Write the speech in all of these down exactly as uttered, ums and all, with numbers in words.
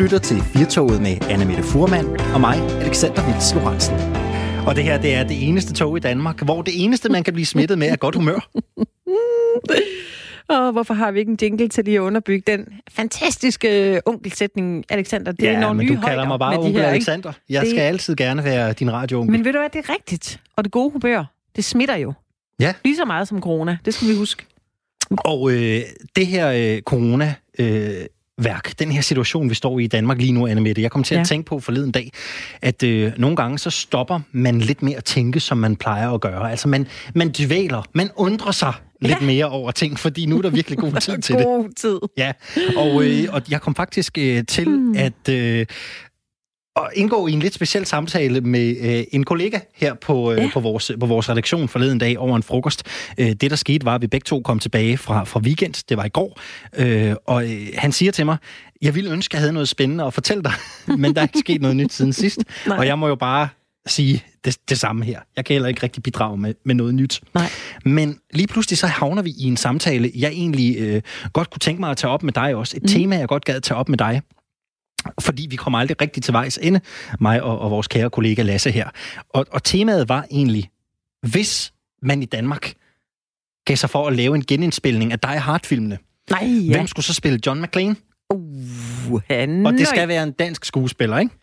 lytter til Firtoget med Anne-Mette Fuhrmann og mig, Alexander Vils Lorentzen. Og det her, det er det eneste tog i Danmark, hvor det eneste, man kan blive smittet med, er godt humør. Og hvorfor har vi ikke en jingle til lige at underbygge den fantastiske onkelsætning, Alexander? Det ja, er nogle men nye du kalder højder mig bare onkel her, Alexander. Jeg det... skal altid gerne være din radioonkel. Men ved du hvad, det er rigtigt. Og det gode humør, det smitter jo. Ja. Lige så meget som corona. Det skal vi huske. Og øh, det her øh, corona... Øh, værk. Den her situation, vi står i i Danmark lige nu, Anne-Mette. Jeg kom til at ja. tænke på forleden dag, at øh, nogle gange så stopper man lidt mere at tænke, som man plejer at gøre. Altså man, man dvæler, man undrer sig ja. lidt mere over ting, fordi nu er der virkelig god tid til det. God tid. Ja, og, øh, og jeg kom faktisk øh, til hmm. at... Øh, og indgå i en lidt speciel samtale med øh, en kollega her på, øh, ja. på, vores, på vores redaktion forleden dag over en frokost. Øh, det, der skete, var, at vi begge to kom tilbage fra, fra weekend. Det var i går. Øh, og øh, han siger til mig, jeg ville ønske, at jeg havde noget spændende at fortælle dig, men der er ikke sket noget nyt siden sidst. Nej. Og jeg må jo bare sige det, det samme her. Jeg kan heller ikke rigtig bidrage med, med noget nyt. Nej. Men lige pludselig så havner vi i en samtale, jeg egentlig øh, godt kunne tænke mig at tage op med dig også. Et mm. tema, jeg godt gad tage op med dig. Fordi vi kommer aldrig rigtig til vejs ende, mig og, og vores kære kollega Lasse her. Og, og temaet var egentlig, hvis man i Danmark gav sig for at lave en genindspilning af Die Hard-filmene, Nej, ja. hvem skulle så spille John McClane? Uh, han... Og det skal være en dansk skuespiller, ikke?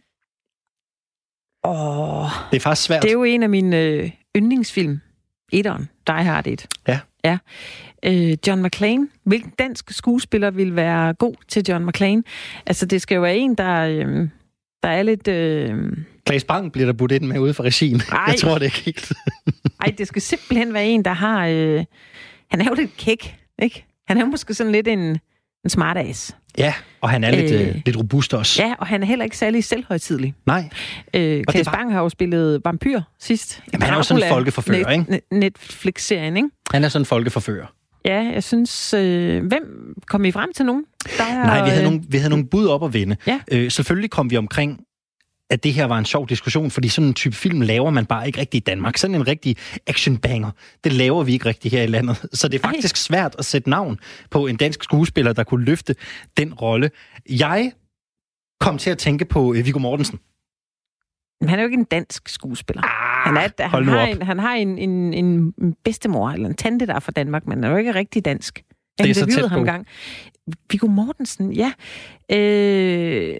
Åh... Oh, det er faktisk svært. Det er jo en af mine øh, yndlingsfilm. Etteren. Die Hard et. Ja. Ja. Øh, John McClane. Hvilken dansk skuespiller vil være god til John McClane? Altså, det skal jo være en, der, øh, der er lidt... Øh... Claes Bang bliver der budt ind med ude for regien. Ej. Jeg tror det ikke helt. Ej, det skal simpelthen være en, der har... Øh... Han er jo lidt kæk, ikke? Han er jo måske sådan lidt en, en smartass. Ja, og han er lidt, øh, lidt robust også. Ja, og han er heller ikke særlig selvhøjtidlig. Nej. Øh, Claes var... Bang har jo spillet vampyr sidst. Jamen, han er jo sådan en folkeforfører, net, ikke? Netflix-serien, ikke? Han er sådan en folkeforfører. Ja, jeg synes... Øh, hvem kom I frem til nogen? Der er, Nej, vi havde, nogle, vi havde nogle bud op at vende. Ja. Øh, selvfølgelig kom vi omkring, at det her var en sjov diskussion, fordi sådan en type film laver man bare ikke rigtig i Danmark. Sådan en rigtig actionbanger, det laver vi ikke rigtig her i landet. Så det er faktisk Ej. svært at sætte navn på en dansk skuespiller, der kunne løfte den rolle. Jeg kom til at tænke på Viggo Mortensen. Men han er jo ikke en dansk skuespiller. Ah, han, er, han, har en, han har en, en, en bedstemor eller en tante, der er fra Danmark, men han er jo ikke rigtig dansk. Jeg det er så tæt på. Ham gang. Viggo Mortensen, ja. Øh...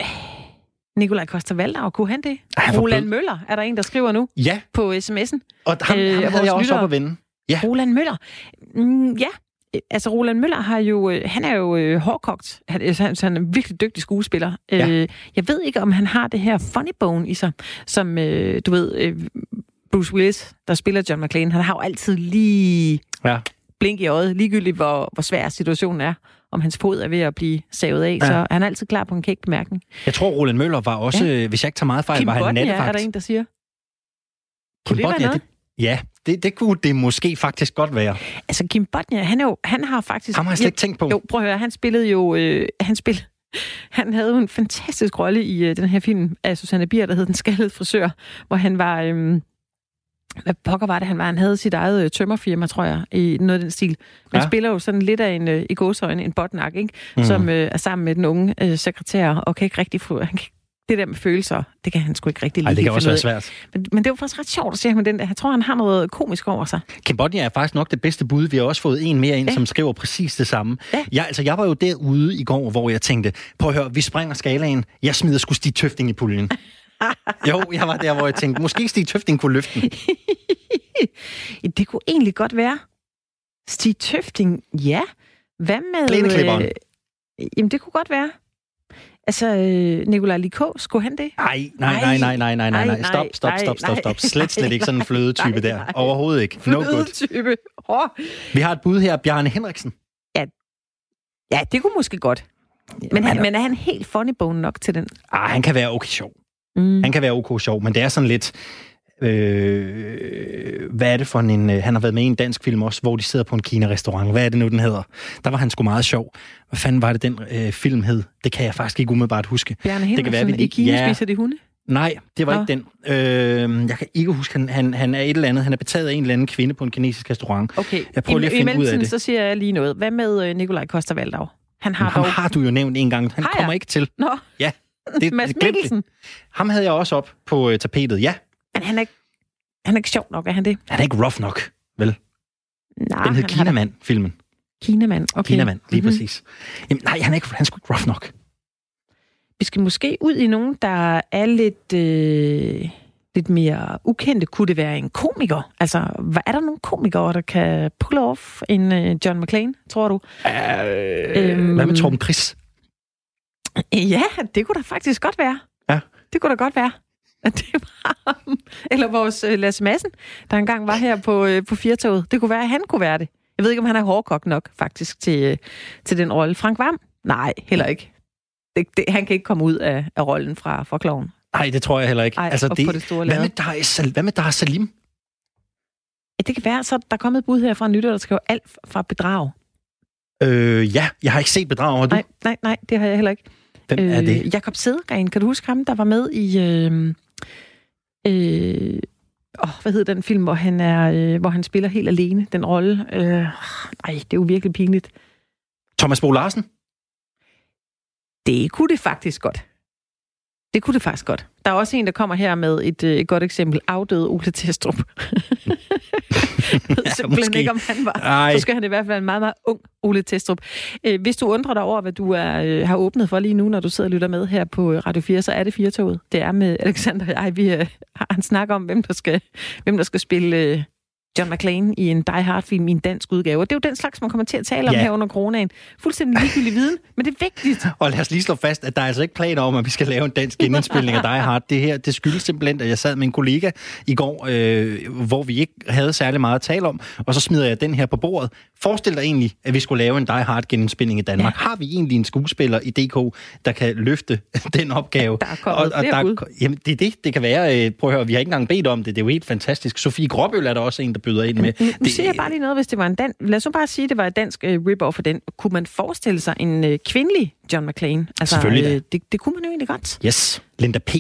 Nikolaj Coster-Waldau, kunne han det? Ej, Roland Møller, er der en, der skriver nu? Ja. På sms'en. Og ham, øh, ham havde jeg også op at vende. Ja. Roland Møller. Mm, ja. Altså, Roland Møller har jo... Han er jo øh, hårdkogt. Han, han, han er en virkelig dygtig skuespiller. Ja. Øh, jeg ved ikke, om han har det her funny bone i sig, som, øh, du ved, øh, Bruce Willis, der spiller John McClane, han har jo altid lige ja. blink i øjet, ligegyldigt hvor, hvor svær situationen er, om hans fod er ved at blive savet af, ja. så han er altid klar på en kæk bemærkning. Jeg tror, Roland Møller var også, ja. hvis jeg ikke tager meget fejl, Kim var han Bodnia, nattevagt. Er der en, der siger? Kim Bodnia, det, ja, det, det kunne det måske faktisk godt være. Altså, Kim Bodnia, han, er jo, han har faktisk... Ham har jeg slet ikke tænkt på. Jo, prøv at høre, han spillede jo... Øh, han spillede... Han havde jo en fantastisk rolle i øh, den her film af Susanne Bier, der hed Den skaldede frisør, hvor han var... Øh, hvad pokker var det, han var? Han havde sit eget øh, tømmerfirma, tror jeg, i noget af den stil. Han ja. spiller jo sådan lidt af en, øh, i gåseøjne, en botnak, ikke? Mm. Som øh, er sammen med den unge øh, sekretær, og kan ikke rigtig få... Han kan, det der med følelser, det kan han sgu ikke rigtig lide. Ej, det kan også være svært. Men, men det er jo faktisk ret sjovt at se ham med den der. Jeg tror, han har noget komisk over sig. Kim Bodnia er faktisk nok det bedste bud. Vi har også fået en mere ind, ja. som skriver præcis det samme. Ja. Jeg, altså, jeg var jo derude i går, hvor jeg tænkte, prøv at høre, vi springer skalaen. Jeg smider sgu Stig Tøfting i puljen. Jo, jeg var der, hvor jeg tænkte, måske Stig Tøfting kunne løfte den. Det kunne egentlig godt være. Stig Tøfting, ja. Hvad med... Plæneklipperen. Øh, jamen, det kunne godt være. Altså, øh, Nikolaj Likå, skulle han det? Nej, nej, nej, nej, nej, nej, nej, nej. Stop, stop, stop, stop, stop. Slet, slet ikke sådan en flødetype der. Overhovedet ikke. No good. Flødetype. Oh. Vi har et bud her, Bjarne Henriksen. Ja, ja det kunne måske godt. Men, han, men er han helt funny bone nok til den? Ah, han kan være okay sjov. Mm. Han kan være okay sjov, men det er sådan lidt... Øh, hvad er det for en... Han har været med i en dansk film også, hvor de sidder på en Kina-restaurant. Hvad er det nu, den hedder? Der var han sgu meget sjov. Hvad fanden var det, den øh, film hed? Det kan jeg faktisk ikke umiddelbart huske. Bjarne Henriksen, i Kina ja. spiser de hunde? Nej, det var Nå. ikke den. Øh, jeg kan ikke huske, han, han, han er et eller andet. Han er betaget af en eller anden kvinde på en kinesisk restaurant. Okay, jeg prøver I, lige at finde i ud af det. så siger jeg lige noget. Hvad med Nikolaj Coster-Waldau? Han har ham dog... har du jo nævnt en gang. Han har kommer jeg? ikke til. Nå. Ja. Det, Mads Mikkelsen. Ham havde jeg også op på uh, tapetet, ja. Men han er, ikke, han er ikke sjov nok, er han det? Han er ikke rough nok, vel? Nej, Den hed Kinamand-filmen. Kinamand, okay. Kinamand, lige mm-hmm. præcis. Jamen, nej, han er, ikke, han er sgu ikke rough nok. Vi skal måske ud i nogen, der er lidt, øh, lidt mere ukendte. Kunne det være en komiker? Altså, hvad, er der nogle komikere, der kan pull off en øh, John McClane, tror du? Øh, øhm, hvad med Torben Chris? Ja, det kunne da faktisk godt være. Ja. Det kunne da godt være. Det var Eller vores øh, Lasse Madsen, der engang var her på, øh, på Firtoget. Det kunne være, at han kunne være det. Jeg ved ikke, om han er hårdkok nok, faktisk, til, øh, til den rolle. Frank Hvam? Nej, heller ikke. Det, det, han kan ikke komme ud af, af rollen fra, fra Klovn. Nej, det tror jeg heller ikke. Ej, altså, det, på det store hvad, med Dar, hvad med Dar Salim? Ja, det kan være, så der er kommet et bud her fra Nytter, der skriver alt fra Bedrag. Øh, ja, jeg har ikke set Bedrag, har du? Nej, nej, nej, det har jeg heller ikke. Hvem er det? Øh, Jakob Sædegren, kan du huske ham, der var med i... Øh, øh, åh, hvad hedder den film, hvor han, er, øh, hvor han spiller helt alene, den rolle? Øh, ej, det er jo virkelig pinligt. Thomas Bo Larsen? Det kunne det faktisk godt. Det kunne det faktisk godt. Der er også en, der kommer her med et, et godt eksempel. Afdøde Ole Testrup. Jeg ved ja, simpelthen måske ikke, om han var. Ej. Så skal han i hvert fald en meget, meget ung Ole Testrup. Hvis du undrer dig over, hvad du er, har åbnet for lige nu, når du sidder og lytter med her på Radio fire, så er det Firtoget. Det er med Alexander og jeg. Vi har en snak om, hvem der skal, hvem der skal spille John McClane i en Die Hard-film i en dansk udgave. Og det er jo den slags, man kommer til at tale om ja. her under coronaen. Fuldstændig ligegyldig viden, men det er vigtigt. Og lad os lige slå fast, at der er altså ikke planer om, at vi skal lave en dansk genindspilning af Die Hard. Det her, det skyldes simpelthen, at jeg sad med en kollega i går, øh, hvor vi ikke havde særlig meget at tale om, og så smider jeg den her på bordet. Forestil dig egentlig, at vi skulle lave en Die Hard genindspilning i Danmark. Ja. Har vi egentlig en skuespiller i D K, der kan løfte den opgave? Der er kommet og, og flere der, jamen, det er det, det kan være. Prøv at høre, vi har ikke engang bedt om det. Det er jo helt fantastisk. Sofie Gråbøl er der også en, der byder ind med. Nu det, siger jeg bare lige noget, hvis det var en dan... Lad os nu bare sige, at det var et dansk uh, rip-off for den. Kunne man forestille sig en uh, kvindelig John McClane? Altså, selvfølgelig uh, det, det kunne man jo egentlig godt. Yes. Linda P.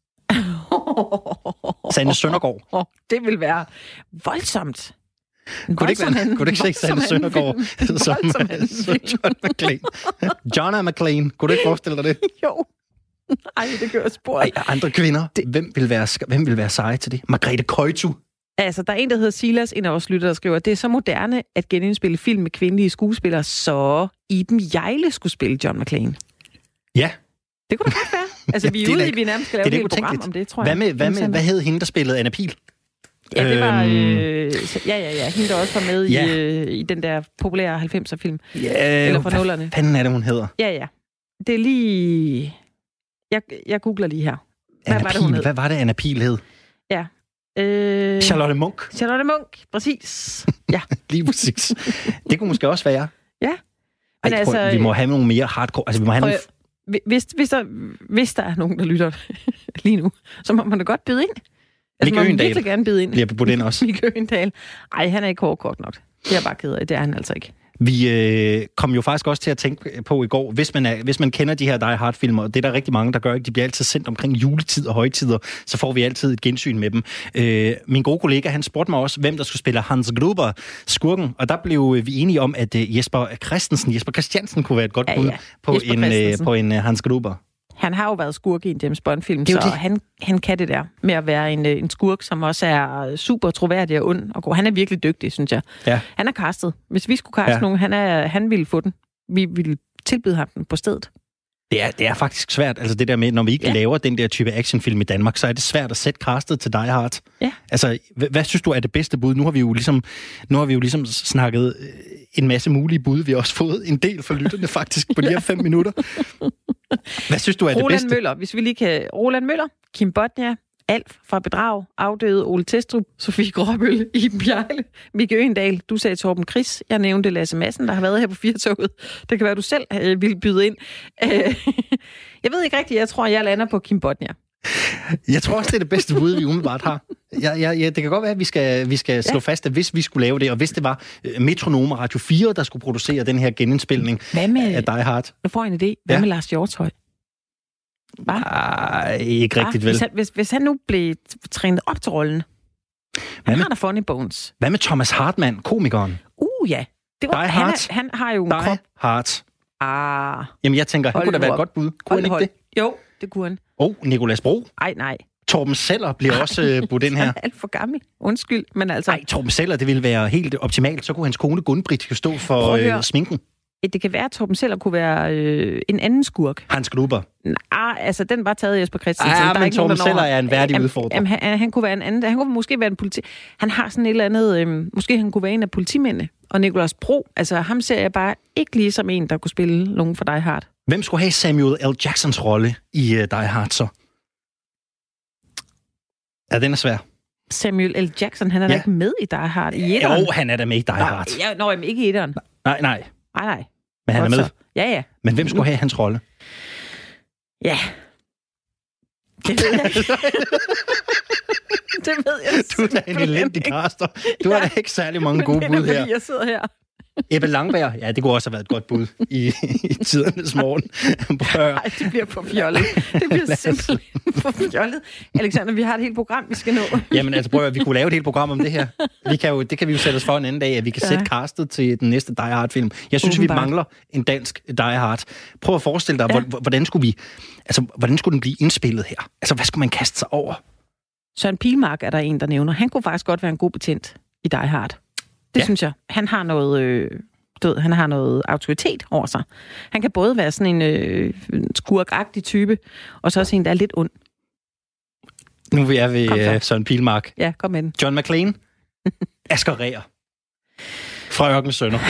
Sanne Søndergaard. Oh, det vil være voldsomt. Kunne det ikke, være, kunne det ikke se Sanne Søndergaard som, som John McClane? John McClane. Kunne du ikke forestille dig det? Jo. Ej, det gør spor. Ej, andre kvinder. Det... Hvem, vil være, hvem vil være seje til det? Margrethe Køjtu. Altså, der er en, der hedder Silas, en af vores lyttere, der skriver, at det er så moderne at genindspille film med kvindelige skuespillere, så Iben Hjejle skulle spille John McClane. Ja. Det kunne da godt være. Altså, ja, vi er ude i, vi nærmest skal lave et helt program om det, tror jeg. Hvad, med, hvad, med, hvad hed hende, der spillede Anna Pihl? Ja, det var... Øh, ja, ja, ja. Hende, der også var med ja. i, øh, i den der populære halvfemser-film. Ja, eller fra nullerne. Hvad fanden er det, hun hedder? Ja, ja. Det er lige... Jeg, jeg googler lige her. Hvad Anna var det, hun hed? Hvad var det, Anna Pihl hed? Ja. Øh, Charlotte Munch. Charlotte Munch, præcis. Ja. Lige præcis. Det kunne måske også være. Ja. Men Ej, altså, prøv, vi må have nogle mere hardcore... Altså, vi må have prøv, nogle... hvis, hvis, der, hvis der er nogen, der lytter lige nu, så må man da godt byde ind. Altså, Mikke Øgendahl virkelig gerne byde ind. Bliver budt ind også. Mikke Øgendahl. Ej, han er ikke hårdkort nok. Det er bare ked af. Det er han altså ikke. Vi øh, kom jo faktisk også til at tænke på i går, hvis man, er, hvis man kender de her Die Hard-filmer, og det er der rigtig mange, der gør, ikke? De bliver altid sendt omkring juletid og højtider, så får vi altid et gensyn med dem. Øh, min gode kollega, han spurgte mig også, hvem der skulle spille Hans Gruber, skurken, og der blev vi enige om, at uh, Jesper Christensen, Jesper Christiansen kunne være et godt bud ja, ja. på, en, uh, på en uh, Hans Gruber. Han har jo været skurk i en James Bond-film, så det. Han, han kan det der med at være en, en skurk, som også er super troværdig og ond og god. Han er virkelig dygtig, synes jeg. Ja. Han er castet. Hvis vi skulle kaste ja. nogen, han, er, han ville få den. Vi ville tilbyde ham den på stedet. Det er, det er faktisk svært, altså det der med, når vi ikke ja. laver den der type actionfilm i Danmark, så er det svært at sætte castet til Die Hard. Ja. Altså, hvad, hvad synes du er det bedste bud? Nu har vi jo ligesom, nu har vi jo ligesom snakket en masse mulige bud. Vi har også fået en del for lytterne faktisk på de her fem minutter. Hvad synes du er Roland det bedste? Roland Møller, hvis vi lige kan... Roland Møller, Kim Bodnia, Alf fra Bedrag, afdøde Ole Testrup, Sofie Gråbøl, Iben Hjejle, Mikke Øgendahl, du sagde Torben Chris, jeg nævnte Lasse Madsen, der har været her på Firtoget. Det kan være, du selv øh, ville byde ind. Øh, jeg ved ikke rigtigt, jeg tror, jeg lander på Kim Bodnia. Jeg tror også, det er det bedste bud, vi umiddelbart har. Ja, ja, ja, det kan godt være, at vi skal, vi skal slå ja. fast, at hvis vi skulle lave det, og hvis det var Metronome Radio fire, der skulle producere den her genindspilning med, af Die Hard. Jeg får en idé. Hvad ja. med Lars Hjortøj? Ej, ikke rigtigt vel. Hvis han, hvis, hvis han nu blev trænet op til rollen. Han med, har da funny bones. Hvad med Thomas Hartmann, komikeren? Uh, ja. Det var, Die han, Hard. Er, han har jo en Die krop. Hard. Ah. Jamen, jeg tænker, han kunne da være et godt bud. Kunne han ikke det? Jo, det kunne han. Åh, oh, Nicolas Bro. Ej, nej. Torben Seller bliver Ej, også budt ind her. Han er alt for gammel. Undskyld, men altså... Nej, Torben Seller, det ville være helt optimalt. Så kunne hans kone Gunn-Britt jo stå for øh, sminken. Det kan være, at Torben Seller kunne være øh, en anden skurk. Hans Gruber. Nej, altså den var taget Jesper Christensen. Ja, der men er ikke Torben nogen, Seller er en værdig jamen, udfordrer. Jamen, han, han kunne være en anden. Han kunne måske være en politi... Han har sådan et eller andet... Øh, måske han kunne være en af politimændene. Og Nicolas Bro, altså ham ser jeg bare ikke lige som en, der kunne spille nogen for Die Hard. Hvem skulle have Samuel L. Jacksons rolle i uh, Die Hard så? Ja, den er svær. Samuel L. Jackson, han er ja. da ikke med i Die Hard i etteren. Jo, han er da med i Die Hard. Ja, nå, jamen ikke i etteren. Nej, nej. Nej, nej. Men han er med. Ja, ja. Men hvem skulle have hans rolle? Ja. Det ved jeg ikke. Det ved jeg. Du er da en elendig caster. Du har da ikke særlig mange gode bud her. Jeg sidder her. Ebbe Langberg, ja, det kunne også have været et godt bud i, i tidernes morgen. Nej, det bliver for fjollet. Det bliver simpelthen for fjollet. Alexander, vi har et helt program, vi skal nå. Jamen altså, prøv at vi kunne lave et helt program om det her. Vi kan jo, det kan vi jo sætte os for en anden dag, at vi kan ja. sætte castet til den næste Die Hard-film. Jeg synes, Ubenbart. vi mangler en dansk Die Hard. Prøv at forestille dig, ja. hvordan skulle vi, altså, hvordan skulle den blive indspillet her? Altså, hvad skulle man kaste sig over? Søren Pilmark er der en, der nævner. Han kunne faktisk godt være en god betjent i Die Hard. Det ja. synes jeg. Han har noget, øh, død, han har noget autoritet over sig. Han kan både være sådan en øh, skurkagtig type, og så også en, der er lidt ond. Nu er vi ved øh, Søren Pilmark. Ja, kom med den. John McClane. Asger Reher. Fra Ørkenens Sønner.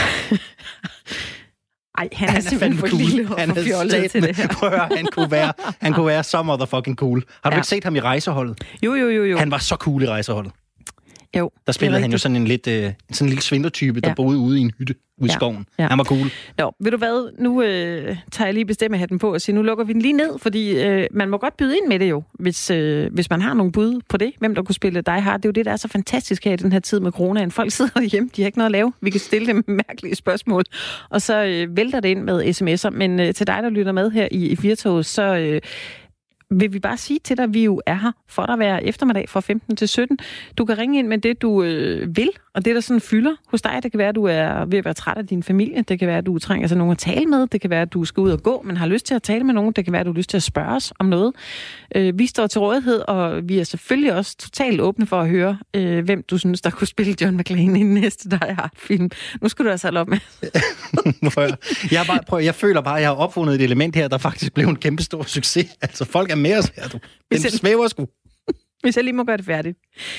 Ej, han, han er simpelthen for cool. lille og for fjollet til det her. Prøv at høre, han kunne være, han kunne være så motherfucking cool. Har du ja. ikke set ham i Rejseholdet? Jo, jo, jo, jo. Han var så cool i Rejseholdet. Jo, der spillede han jo sådan en lidt øh, sådan en lille svindlertype, der ja. boede ude i en hytte ude i ja. skoven. Ja. Han var cool. Nå, ved du hvad? Nu øh, tager jeg lige bestemmehatten på og siger, nu lukker vi den lige ned, fordi øh, man må godt byde ind med det jo, hvis, øh, hvis man har nogle bud på det. Hvem der kunne spille Die Hard. Det er jo det, der er så fantastisk her i den her tid med coronaen. Folk sidder hjemme, de har ikke noget at lave. Vi kan stille dem mærkelige spørgsmål, og så øh, vælter det ind med sms'er. Men øh, til dig, der lytter med her i, i Firtoget, så... Øh, vil vi bare sige til dig, at vi jo er her for dig hver eftermiddag fra femten til sytten. Du kan ringe ind med det, du øh, vil, og det, der sådan fylder hos dig. Det kan være, at du er ved at være træt af din familie. Det kan være, at du trænger sig nogen at tale med. Det kan være, at du skal ud og gå, men har lyst til at tale med nogen. Det kan være, at du har lyst til at spørge os om noget. Øh, vi står til rådighed, og vi er selvfølgelig også totalt åbne for at høre, øh, hvem du synes, der kunne spille John McClane i den næste Die Hard-film. Nu skal du altså holde op med. jeg, bare, prøv, jeg føler bare, at jeg har opfundet et element her, der faktisk blev en kæmpe stor succes. Altså, folk er med os her, du. Den svæver sgu. Hvis jeg lige må gøre det færdigt.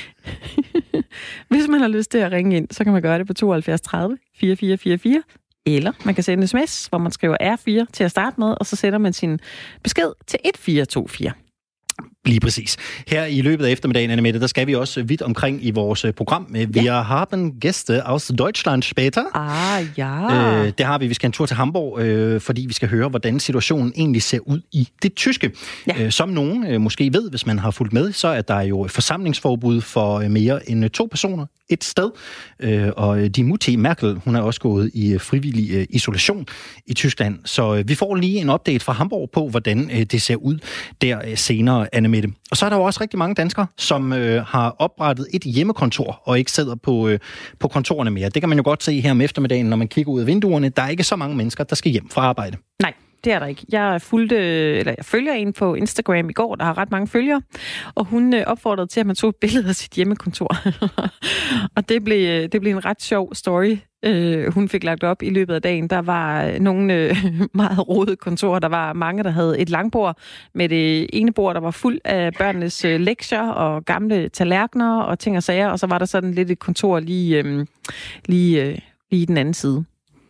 Hvis man har lyst til at ringe ind, så kan man gøre det på tooghalvfjerds tredive fireogfyrre fireogfyrre. Eller man kan sende en sms, hvor man skriver R fire til at starte med, og så sætter man sin besked til et fire to fire. Lige præcis. Her i løbet af eftermiddagen, Annemette, der skal vi også vidt omkring i vores program. Vi ja. haben Gäste aus Deutschland später. Ah, ja. Øh, det har vi. Vi skal en tur til Hamburg, øh, fordi vi skal høre, hvordan situationen egentlig ser ud i det tyske. Ja. Øh, som nogen øh, måske ved, hvis man har fulgt med, så er der jo forsamlingsforbud for øh, mere end to personer et sted. Øh, og Die Mutti Merkel, hun er også gået i frivillig øh, isolation i Tyskland. Så øh, vi får lige en update fra Hamburg på, hvordan øh, det ser ud der øh, senere, Annemette. Og så er der jo også rigtig mange danskere, som øh, har oprettet et hjemmekontor og ikke sidder på, øh, på kontorerne mere. Det kan man jo godt se her om eftermiddagen, når man kigger ud af vinduerne. Der er ikke så mange mennesker, der skal hjem fra arbejde. Nej. Det er der ikke. Jeg fulgte, eller jeg følger en på Instagram i går, der har ret mange følgere, og hun opfordrede til, at man tog et billede af sit hjemmekontor. Og det blev, det blev en ret sjov story, hun fik lagt op i løbet af dagen. Der var nogle meget rodede kontorer. Der var mange, der havde et langbord med det ene bord, der var fuld af børnenes lektier og gamle tallerkener og ting og sager, og så var der sådan lidt et kontor lige, lige, lige i den anden side.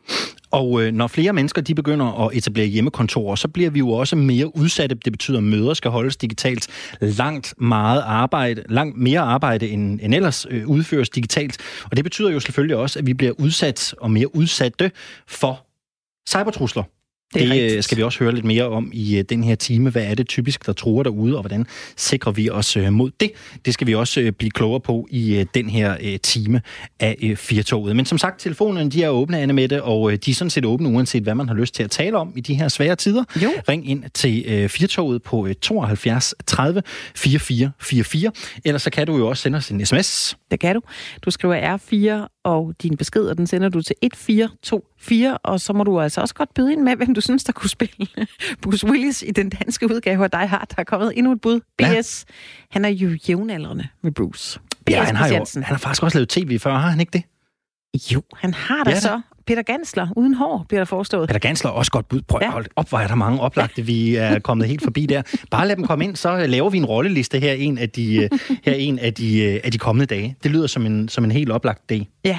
Og øh, når flere mennesker de begynder at etablere hjemmekontorer, så bliver vi jo også mere udsatte. Det betyder, at møder skal holdes digitalt. Langt meget arbejde, langt mere arbejde end, end ellers øh, udføres digitalt. Og det betyder jo selvfølgelig også, at vi bliver udsat og mere udsatte for cybertrusler. Det, det skal vi også høre lidt mere om i den her time. Hvad er det typisk, der truer derude, og hvordan sikrer vi os mod det? Det skal vi også blive klogere på i den her time af Firtoget. Men som sagt, telefonerne de er åbne, Annemette, og de er sådan set åbne, uanset hvad man har lyst til at tale om i de her svære tider. Jo. Ring ind til Firtoget på tooghalvfjerds tredive fireogfyrre fireogfyrre, ellers så kan du jo også sende os en sms. Det kan du. Du skriver R fire og din besked, og den sender du til et fire to fire, og så må du altså også godt byde ind med, hvem du synes, der kunne spille Bruce Willis i den danske udgave af Die Hard. Der er kommet endnu et bud. B S, ja. Han er jo jævnaldrende med Bruce. B S ja, han har jo han har faktisk også lavet tv før, har han ikke det? Jo, han har da ja, så. Peter Gansler, uden hår, bliver der forestået. Peter Gansler er også godt bud. Prøv at ja. op, hvor er der mange oplagte, vi er kommet helt forbi der. Bare lad dem komme ind, så laver vi en rolleliste her en af de, her en af de, af de kommende dage. Det lyder som en, som en helt oplagt dag. Ja.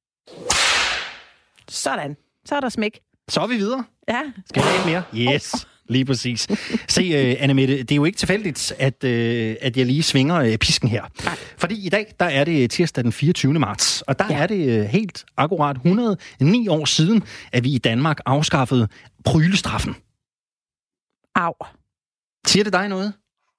Sådan. Så er der smæk. Så er vi videre. Ja. Skal vi have mere? Yes. Lige præcis. Se, uh, Annemette, det er jo ikke tilfældigt, at, uh, at jeg lige svinger uh, pisken her. Nej. Fordi i dag, der er det tirsdag den fireogtyvende marts, og der ja. er det uh, helt akkurat et hundrede og ni år siden, at vi i Danmark afskaffede prylestraffen. Au. Siger det dig noget?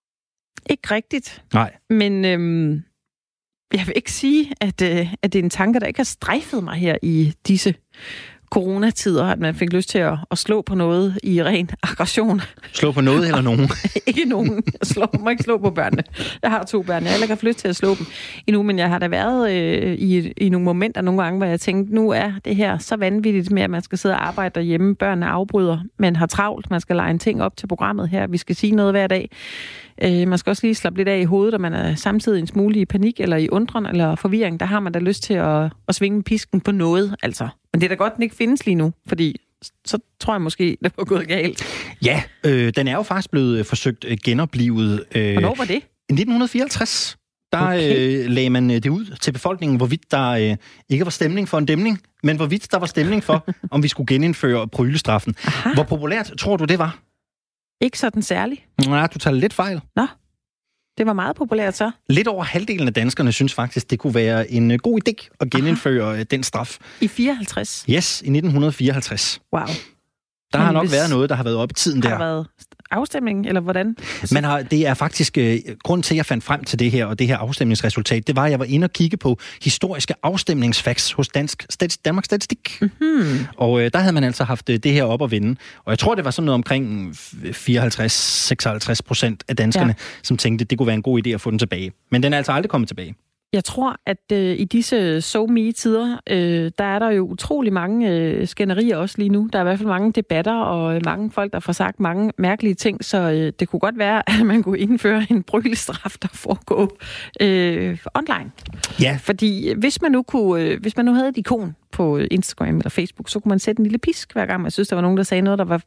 Ikke rigtigt. Nej. Men øhm, jeg vil ikke sige, at, øh, at det er en tanke, der ikke har strejfet mig her i disse coronatider, at man fik lyst til at, at slå på noget i ren aggression. Slå på noget eller nogen? Ikke nogen. Slå, må ikke slå på børnene. Jeg har to børn. Jeg har heller ikke haft lyst til at slå dem endnu, men jeg har da været øh, i, i nogle momenter nogle gange, hvor jeg tænkte, nu er det her så vanvittigt med, at man skal sidde og arbejde derhjemme. Børnene afbryder. Man har travlt. Man skal lege en ting op til programmet her. Vi skal sige noget hver dag. Øh, man skal også lige slappe lidt af i hovedet, og man er samtidig en smule i panik, eller i undren, eller forvirring. Der har man da lyst til at, at svinge pisken på noget, altså. Men det er da godt, den ikke findes lige nu, fordi så tror jeg måske, det var gået galt. Ja, øh, den er jo faktisk blevet forsøgt genoplivet. Øh, Hvornår var det? I nitten fireoghalvtreds. Der okay. øh, lagde man det ud til befolkningen, hvorvidt der øh, ikke var stemning for en dæmning, men hvorvidt der var stemning for, om vi skulle genindføre prylestraffen. Aha. Hvor populært tror du, det var? Ikke sådan særlig. Nej, du tager lidt fejl. Nå, det var meget populært så. Lidt over halvdelen af danskerne synes faktisk, det kunne være en god idé at genindføre Aha. den straf. I fireoghalvtreds? Yes, i nitten fireoghalvtreds. Wow. Der har nok været noget, der har været op i tiden der. Har der været afstemning, eller hvordan? Man har, det er faktisk uh, grund til, at jeg fandt frem til det her, og det her afstemningsresultat, det var, at jeg var inde og kigge på historiske afstemningsfacts hos Dansk, Stats, Danmarks Statistik. Mm-hmm. Og uh, der havde man altså haft uh, det her op at vinde. Og jeg tror, det var sådan noget omkring fireoghalvtreds til seksoghalvtreds procent af danskerne, ja. som tænkte, det kunne være en god idé at få den tilbage. Men den er altså aldrig kommet tilbage. Jeg tror, at øh, i disse SoMe-tider, øh, der er der jo utrolig mange øh, skænderier også lige nu. Der er i hvert fald mange debatter, og mange folk, der får sagt mange mærkelige ting, så øh, det kunne godt være, at man kunne indføre en brylestraf, der foregår øh, online. Ja. Fordi hvis man nu kunne, øh, hvis man nu havde et ikon på Instagram eller Facebook, så kunne man sætte en lille pisk hver gang, man synes, der var nogen, der sagde noget, der var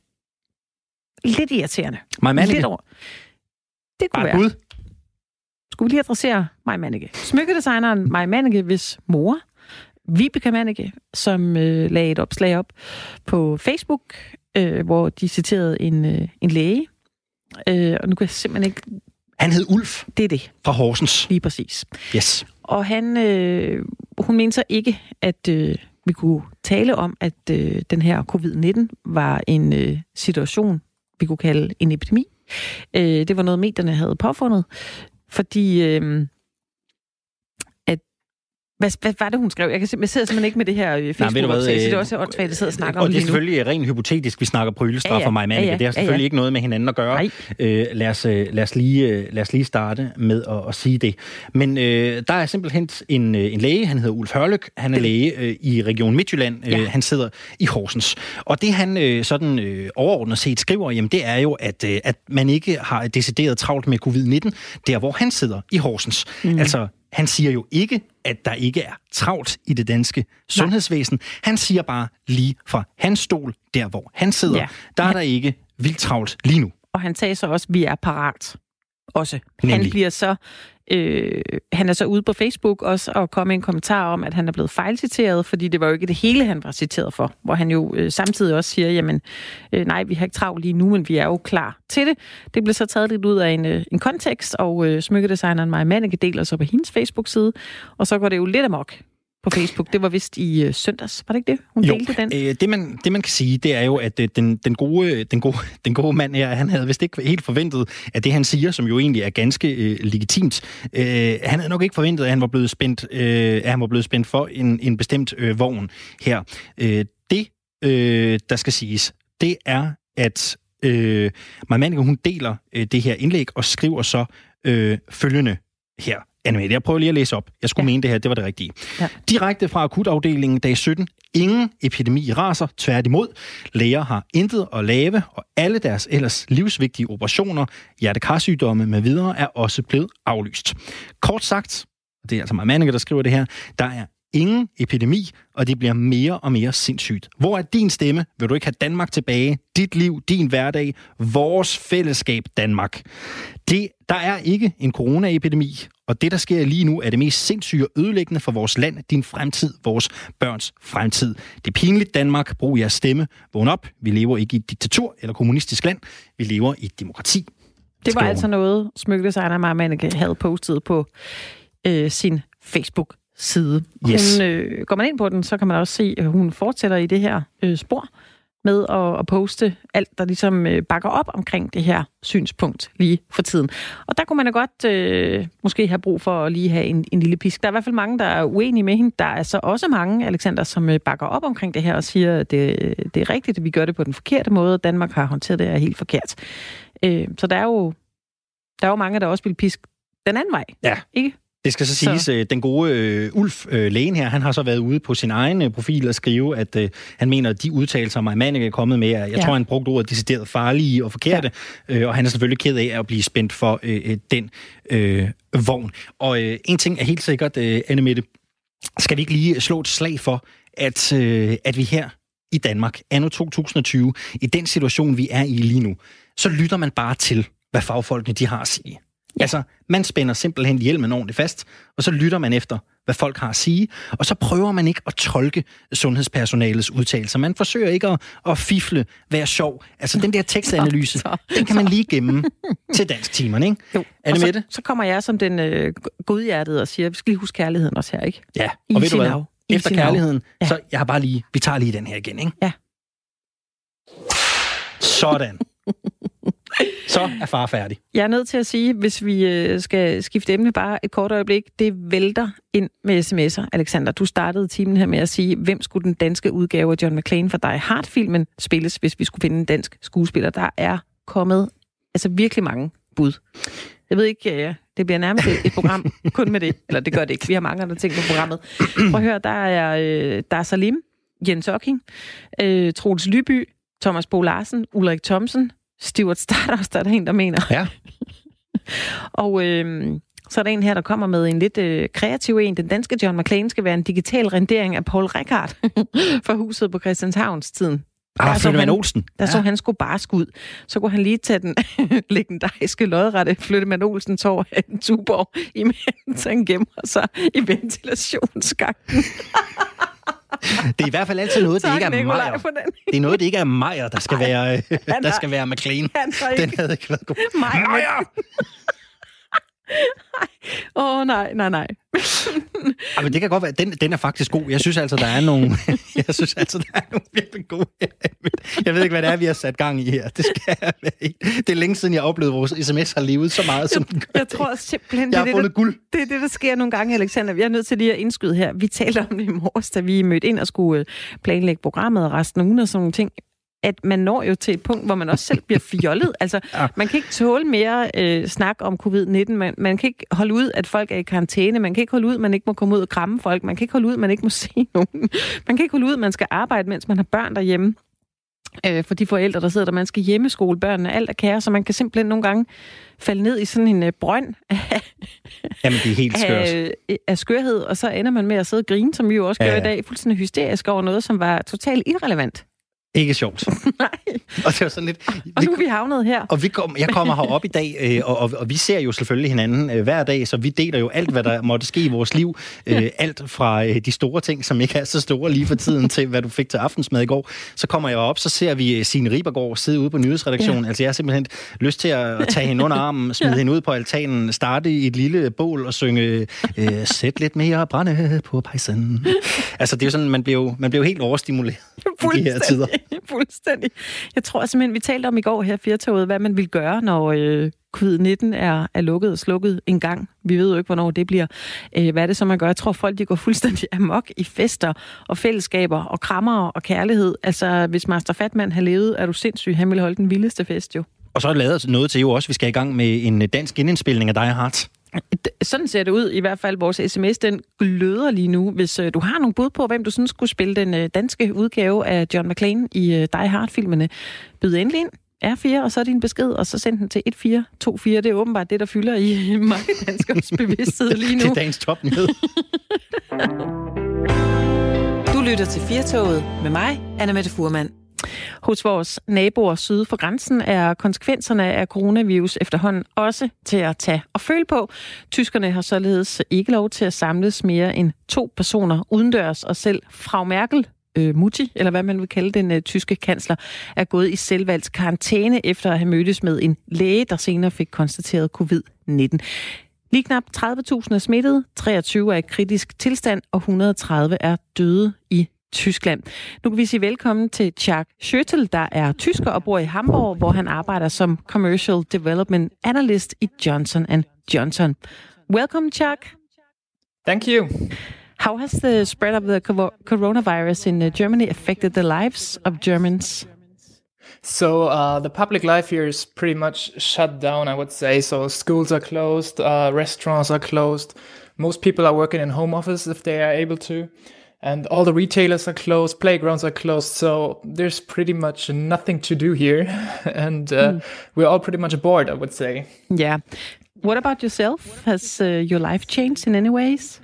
lidt irriterende. Lidt over. Det kunne Bare være. Skulle vi lige adressere Maj Mannicke. Smykkedesigneren Maj Mannicke, hvis mor, Vibeke Mannicke, som øh, lagde et opslag op på Facebook, øh, hvor de citerede en, øh, en læge. Øh, og nu kan jeg simpelthen ikke... Han hed Ulf. Det er det. Fra Horsens. Lige præcis. Yes. Og han, øh, hun mente så ikke, at øh, vi kunne tale om, at øh, den her covid nitten var en øh, situation, vi kunne kalde en epidemi. Øh, det var noget, medierne havde påfundet. Fordi, øh, at, hvad, hvad var det, hun skrev? Jeg, kan, jeg sidder simpelthen ikke med det her Facebook-opslag, så det er også åndssvagt, at sidde og snakke og om det. Og det er selvfølgelig rent hypotetisk, vi snakker prylestraf ja, ja. for Maj Mannicke. Ja, ja. Det har selvfølgelig ja, ja. ikke noget med hinanden at gøre. Øh, lad, os, lad, os lige, lad os lige starte med at, at sige det. Men øh, der er simpelthen en, en læge, han hedder Ulf Hørlyk. Han er læge øh, i Region Midtjylland. Ja. Øh, han sidder i Horsens. Og det han øh, sådan øh, overordnet set skriver, jamen, det er jo, at, øh, at man ikke har decideret travlt med covid nitten, der hvor han sidder i Horsens. Mm. Altså, han siger jo ikke, at der ikke er travlt i det danske sundhedsvæsen. Han siger bare lige fra hans stol, der hvor han sidder, ja. der er der ikke vildt travlt lige nu. Og han sagde så også, at vi er parat. Også. Nemlig. Han bliver så... Øh, han er så ude på Facebook også og kom med en kommentar om, at han er blevet fejlciteret, fordi det var jo ikke det hele, han var citeret for. Hvor han jo øh, samtidig også siger, jamen øh, nej, vi har ikke travlt lige nu, men vi er jo klar til det. Det blev så taget lidt ud af en, øh, en kontekst, og øh, smykkedesigneren Maj Mannicke deler så på hendes Facebook-side, og så går det jo lidt amok på Facebook. Det var vist i øh, søndags, var det ikke det? Hun jo, delte den. Øh, det, man, det man kan sige, det er jo, at øh, den, den, gode, den, gode, den gode mand her, han havde vist ikke helt forventet, at det han siger, som jo egentlig er ganske øh, legitimt, øh, han havde nok ikke forventet, at han var blevet spændt, øh, at han var blevet spændt for en, en bestemt øh, vogn her. Øh, det, øh, der skal siges, det er, at øh, Maj Mannicke, hun deler øh, det her indlæg og skriver så øh, følgende her. Anne-Mette, jeg prøver lige at læse op. Jeg skulle ja. mene det her, det var det rigtige. Ja. Direkte fra akutafdelingen dag sytten. Ingen epidemi raser, tværtimod. Læger har intet at lave, og alle deres ellers livsvigtige operationer, hjertekarsygdomme med videre, er også blevet aflyst. Kort sagt, det er altså mig Manneke, der skriver det her, der er ingen epidemi, og det bliver mere og mere sindssygt. Hvor er din stemme? Vil du ikke have Danmark tilbage? Dit liv, din hverdag, vores fællesskab Danmark. Det, der er ikke en coronaepidemi, og det, der sker lige nu, er det mest sindssyge og ødelæggende for vores land, din fremtid, vores børns fremtid. Det er pinligt, Danmark. Brug jeres stemme. Vågn op. Vi lever ikke i et diktatur eller kommunistisk land. Vi lever i et demokrati. Det var altså noget, smykkedesigner Maja Manneke havde postet på øh, sin Facebook side. Yes. Hun, øh, går man ind på den, så kan man også se, at hun fortsætter i det her øh, spor med at, at poste alt, der ligesom øh, bakker op omkring det her synspunkt lige for tiden. Og der kunne man da godt øh, måske have brug for at lige have en, en lille pisk. Der er i hvert fald mange, der er uenige med hende. Der er så også mange, Alexander, som øh, bakker op omkring det her og siger, at det, det er rigtigt, at vi gør det på den forkerte måde. Danmark har håndteret det her helt forkert. Øh, så der er jo der er jo mange, der også vil piske den anden vej. Ja. Ikke? Det skal så siges, så. Den gode øh, Ulf, øh, lægen her, han har så været ude på sin egen øh, profil og skrive, at øh, han mener, at de udtalelser, Maja Manneke er kommet med, jeg ja. tror, han brugte ordet decideret farlige og forkerte, ja. øh, og han er selvfølgelig ked af at blive spændt for øh, den øh, vogn. Og øh, en ting er helt sikkert, øh, Anne-Mette, skal vi ikke lige slå et slag for, at, øh, at vi her i Danmark, anno to tusind og tyve, i den situation, vi er i lige nu, så lytter man bare til, hvad fagfolkene de har at sige. Ja. Altså, man spænder simpelthen hjelmen ordentligt fast, og så lytter man efter, hvad folk har at sige, og så prøver man ikke at tolke sundhedspersonalets udtalelser. Man forsøger ikke at, at fifle, være sjov. Altså, den der tekstanalyse, så, så, den kan man lige gemme til dansktimerne, ikke? Jo, og så, så kommer jeg som den øh, godhjertede og siger, vi skal lige huske kærligheden også her, ikke? Ja, og I ved du hvad? Efter kærligheden, ja. så jeg har bare lige, vi tager lige den her igen, ikke? Ja. Sådan. Så er far færdig. Jeg er nødt til at sige, hvis vi skal skifte emne bare et kort øjeblik, det vælter ind med sms'er. Alexander, du startede timen her med at sige, hvem skulle den danske udgave af John McClane for Die Hard-filmen spilles, hvis vi skulle finde en dansk skuespiller. Der er kommet altså virkelig mange bud. Jeg ved ikke, ja, det bliver nærmest et program kun med det. Eller det gør det ikke. Vi har mange andre ting på programmet. Prøv at høre, der er, der er Salim, Jens Ocking, Troels Lyby, Thomas Bo Larsen, Ulrik Thomsen, Stuart Stardust, der er der en, der mener. Ja. Og øh, så er der en her, der kommer med en lidt øh, kreativ en. Den danske John McClane skal være en digital rendering af Paul Rickard fra huset på Christianshavns tiden. Ah, Flyttemann Olsen. Der ja. så han skulle bare skud. Så kunne han lige tage den legendariske lodrette Flyttemann Olsen tår af en Tuborg, imens han gemmer sig i ventilationsgangen. Det er i hvert fald altid noget, det ikke er Meyer. Det er noget, det ikke er Meyer, der skal være, der skal være McClane. Den havde ikke været god. Meyer! Åh, oh, nej, nej, nej. Ja, men det kan godt være, den, den er faktisk god. Jeg synes altså, der er nogle, jeg synes altså, der er nogle virkelig gode. Jeg ved ikke, hvad det er, vi har sat gang i her. Det skal være Det er længe siden, jeg oplevede, at vores sms har levet så meget, som den gør. Jeg tror simpelthen, jeg det, har det, guld. det er det, der sker nogle gange, Alexander. Vi er nødt til lige at indskyde her. Vi talte om det i morges, da vi mødte ind og skulle planlægge programmet og resten af ugen og sådan nogle ting. At man når jo til et punkt, hvor man også selv bliver fjollet. Altså, ja. Man kan ikke tåle mere øh, snak om covid nitten. Man, man kan ikke holde ud, at folk er i karantæne. Man kan ikke holde ud, at man ikke må komme ud og kramme folk. Man kan ikke holde ud, at man ikke må se nogen. Man kan ikke holde ud, at man skal arbejde, mens man har børn derhjemme. Øh, for de forældre, der sidder der, man skal hjemmeskole børnene. Alt er kære, så man kan simpelthen nogle gange falde ned i sådan en øh, brønd af, Jamen, det er helt skørt. Af, af skørhed, og så ender man med at sidde og grine, som vi jo også gør ja. i dag, fuldstændig hysterisk over noget, som var totalt irrelevant. Ikke sjovt. Nej. Og det var sådan lidt... Og nu er vi havnet her. Og vi kom, jeg kommer herop i dag, øh, og, og, og vi ser jo selvfølgelig hinanden øh, hver dag, så vi deler jo alt, hvad der måtte ske i vores liv. Øh, alt fra øh, de store ting, som ikke er så store lige for tiden, til hvad du fik til aftensmad i går. Så kommer jeg op, så ser vi Signe Ribergaard sidde ude på nyhedsredaktionen. Ja. Altså jeg har simpelthen lyst til at, at tage hende under armen, smide ja. hende ud på altanen, starte i et lille bål og synge øh, sæt lidt mere brænde på pejsen. Altså det er jo sådan, man bliver jo, man bliver jo helt overstimuleret i de her tider. Fuldstændig. Jeg tror simpelthen, vi talte om i går her Firtoget, hvad man vil gøre, når øh, covid nitten er, er lukket og slukket en gang. Vi ved jo ikke, hvornår det bliver. Øh, hvad er det så, man gør? Jeg tror, folk de går fuldstændig amok i fester og fællesskaber og krammer og kærlighed. Altså, hvis Master Fatman har levet, er du sindssyg. Han ville holde den vildeste fest jo. Og så er det lavet noget til jo også, vi skal i gang med en dansk genindspilning af Die Hard. Sådan ser det ud, i hvert fald vores sms, den gløder lige nu. Hvis øh, du har nogle bud på, hvem du synes skulle spille den øh, danske udgave af John McClane i øh, Die Hard-filmene, byd endelig ind. R fire, og så din besked, og så send den til et fire to fire. Det er åbenbart det, der fylder i mange danskers bevidsthed lige nu. Det er dagens topnyhed. Du lytter til Firtoget med mig, Anna-Mette Fuhrmann. Hos vores naboer syd for grænsen er konsekvenserne af coronavirus efterhånden også til at tage og føle på. Tyskerne har således ikke lov til at samles mere end to personer udendørs, og selv Frau Merkel, øh, Mutti, eller hvad man vil kalde den øh, tyske kansler, er gået i selvvalgt karantæne efter at have mødtes med en læge, der senere fik konstateret covid nitten. Lige knap tredive tusind er smittet, treogtyve er i kritisk tilstand, og et hundrede og tredive er døde i Tyskland. Nu kan vi sige velkommen til Chuck Schöttel, der er tysker og bor i Hamburg, hvor han arbejder som Commercial Development Analyst i Johnson and Johnson. Welcome, Chuck. Thank you. How has the spread of the coronavirus in Germany affected the lives of Germans? So uh, the public life here is pretty much shut down, I would say. So schools are closed, uh, restaurants are closed. Most people are working in home office if they are able to. And all the retailers are closed, playgrounds are closed, so there's pretty much nothing to do here. And uh, mm. we're all pretty much bored, I would say. Yeah. What about yourself? Has uh, your life changed in any ways?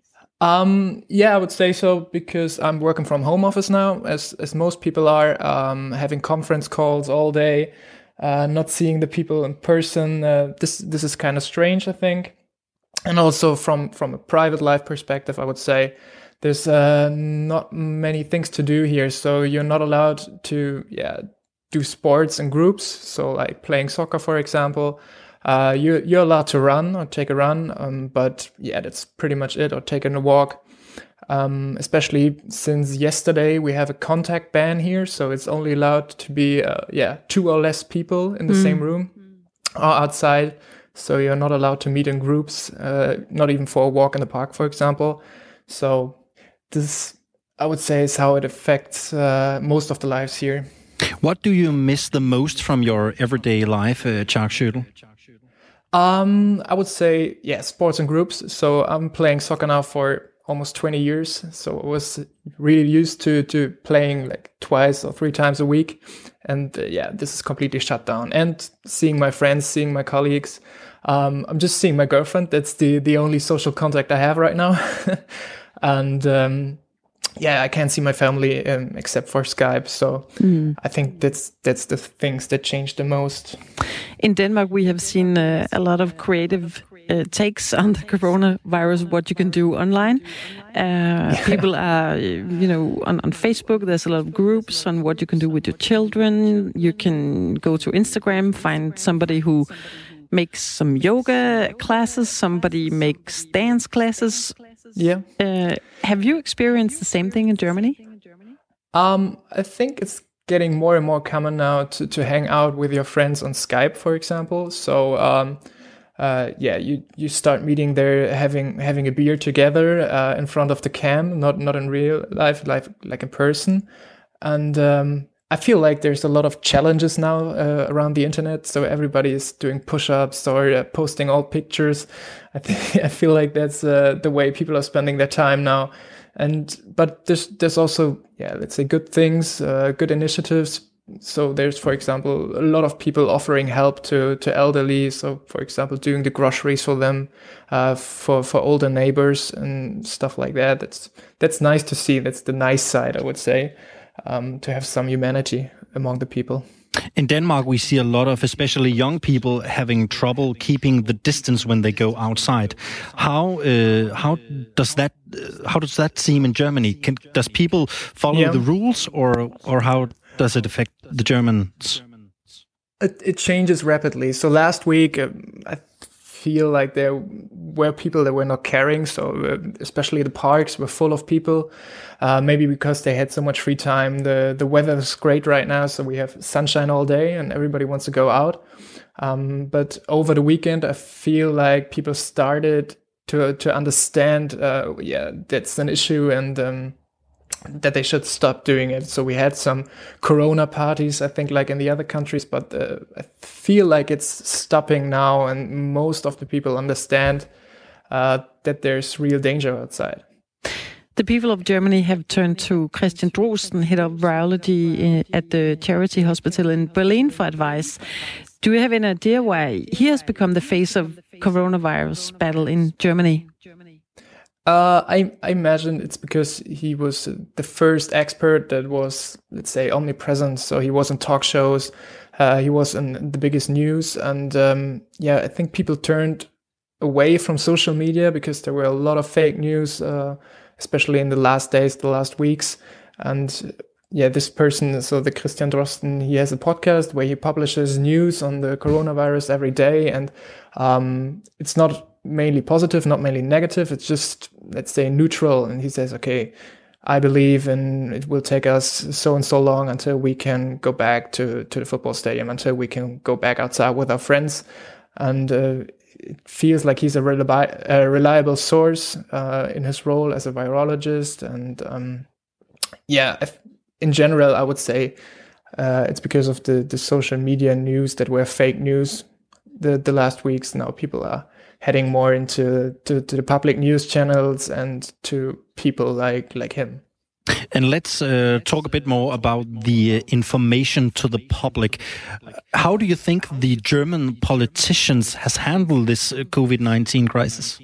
Um, yeah, I would say so, because I'm working from home office now, as as most people are, um, having conference calls all day, uh, not seeing the people in person. Uh, this this is kind of strange, I think. And also from, from a private life perspective, I would say, there's uh, not many things to do here, so you're not allowed to yeah do sports in groups. So like playing soccer, for example, uh, you you're allowed to run or take a run, um, but yeah, that's pretty much it. Or taking a walk. Um, especially since yesterday, we have a contact ban here, so it's only allowed to be uh, yeah two or less people in the mm. same room or outside. So you're not allowed to meet in groups, uh, not even for a walk in the park, for example. So this, I would say, is how it affects uh, most of the lives here. What do you miss the most from your everyday life, uh, Chuck Schöttel? Um, I would say, yeah, sports and groups. So I'm playing soccer now for almost twenty years. So I was really used to to playing like twice or three times a week. And uh, yeah, this is completely shut down. And seeing my friends, seeing my colleagues. Um, I'm just seeing my girlfriend. That's the, the only social contact I have right now. And um, yeah, I can't see my family um, except for Skype. So mm. I think that's that's the things that changed the most. In Denmark, we have seen uh, a lot of creative uh, takes on the coronavirus, what you can do online. Uh, people are, you know, on, on Facebook, there's a lot of groups on what you can do with your children. You can go to Instagram, find somebody who makes some yoga classes, somebody makes dance classes. Yeah. Uh, have you experienced the same thing in Germany? Um, I think it's getting more and more common now to, to hang out with your friends on Skype, for example. So, um, uh, yeah, you, you start meeting there, having having a beer together uh, in front of the cam, not not in real life, like like in person. And um, I feel like there's a lot of challenges now uh, around the internet. So everybody is doing push-ups or uh, posting old pictures. I think I feel like that's uh, the way people are spending their time now. And but there's there's also yeah let's say good things, uh, good initiatives. So there's, for example, a lot of people offering help to to elderly. So for example, doing the groceries for them, uh, for for older neighbors and stuff like that. That's that's nice to see. That's the nice side, I would say. Um, to have some humanity among the people. In Denmark, we see a lot of, especially young people, having trouble keeping the distance when they go outside. How uh, how does that uh, how does that seem in Germany? Can, does people follow yeah. the rules, or or how does it affect the Germans? It, it changes rapidly. So last week, uh, I feel like there were people that were not caring. So uh, especially the parks were full of people. Uh, maybe because they had so much free time. The the weather is great right now, so we have sunshine all day and everybody wants to go out. Um, but over the weekend, I feel like people started to to understand, uh, yeah, that's an issue, and um, that they should stop doing it. So we had some Corona parties, I think, like in the other countries, but uh, I feel like it's stopping now, and most of the people understand uh, that there's real danger outside. The people of Germany have turned to Christian Drosten, head of virology at the Charity Hospital in Berlin, for advice. Do you have an idea why he has become the face of coronavirus battle in Germany? Uh, I, I imagine it's because he was the first expert that was, let's say, omnipresent. So he was in talk shows, uh, he was in the biggest news. And um, yeah, I think people turned away from social media because there were a lot of fake news, uh, especially in the last days, the last weeks. And yeah, this person, so the Christian Drosten, he has a podcast where he publishes news on the coronavirus every day. And um, it's not mainly positive, not mainly negative. It's just, let's say, neutral. And he says, okay, I believe in it will take us so and so long until we can go back to, to the football stadium, until we can go back outside with our friends. And uh, it feels like he's a, reliable, a reliable source uh, in his role as a virologist. And um, yeah, if, in general, I would say uh, it's because of the, the social media news that were fake news the, the last weeks. Now people are heading more into to, to the public news channels and to people like like him. And let's uh, talk a bit more about the uh, information to the public. How do you think the German politicians has handled this uh, COVID nineteen crisis?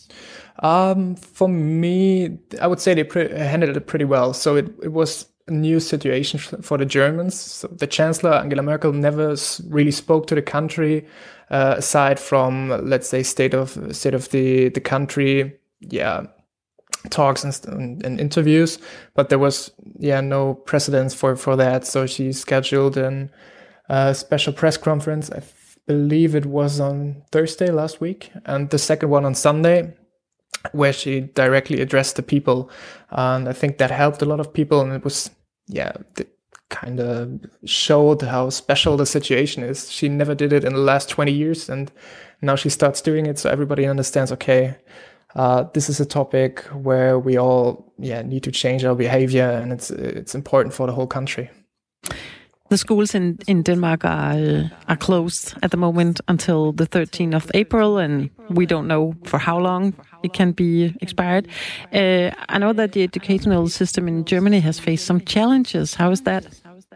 Um, for me, I would say they pre- handled it pretty well. So it, it was a new situation for the Germans. So the Chancellor, Angela Merkel, never really spoke to the country, uh, aside from, let's say, state of state of the, the country, yeah, talks and, and, and interviews. But there was, yeah, no precedence for, for that. So she scheduled a uh, special press conference. I f- believe it was on Thursday last week, and the second one on Sunday, where she directly addressed the people. And I think that helped a lot of people. And it was, yeah, it kind of showed how special the situation is. She never did it in the last twenty years. And now she starts doing it. So everybody understands, okay, uh, this is a topic where we all yeah need to change our behavior. And it's it's important for the whole country. The schools in, in Denmark are uh, are closed at the moment until the thirteenth of April, and we don't know for how long it can be expired. Uh, I know that the educational system in Germany has faced some challenges. How is that?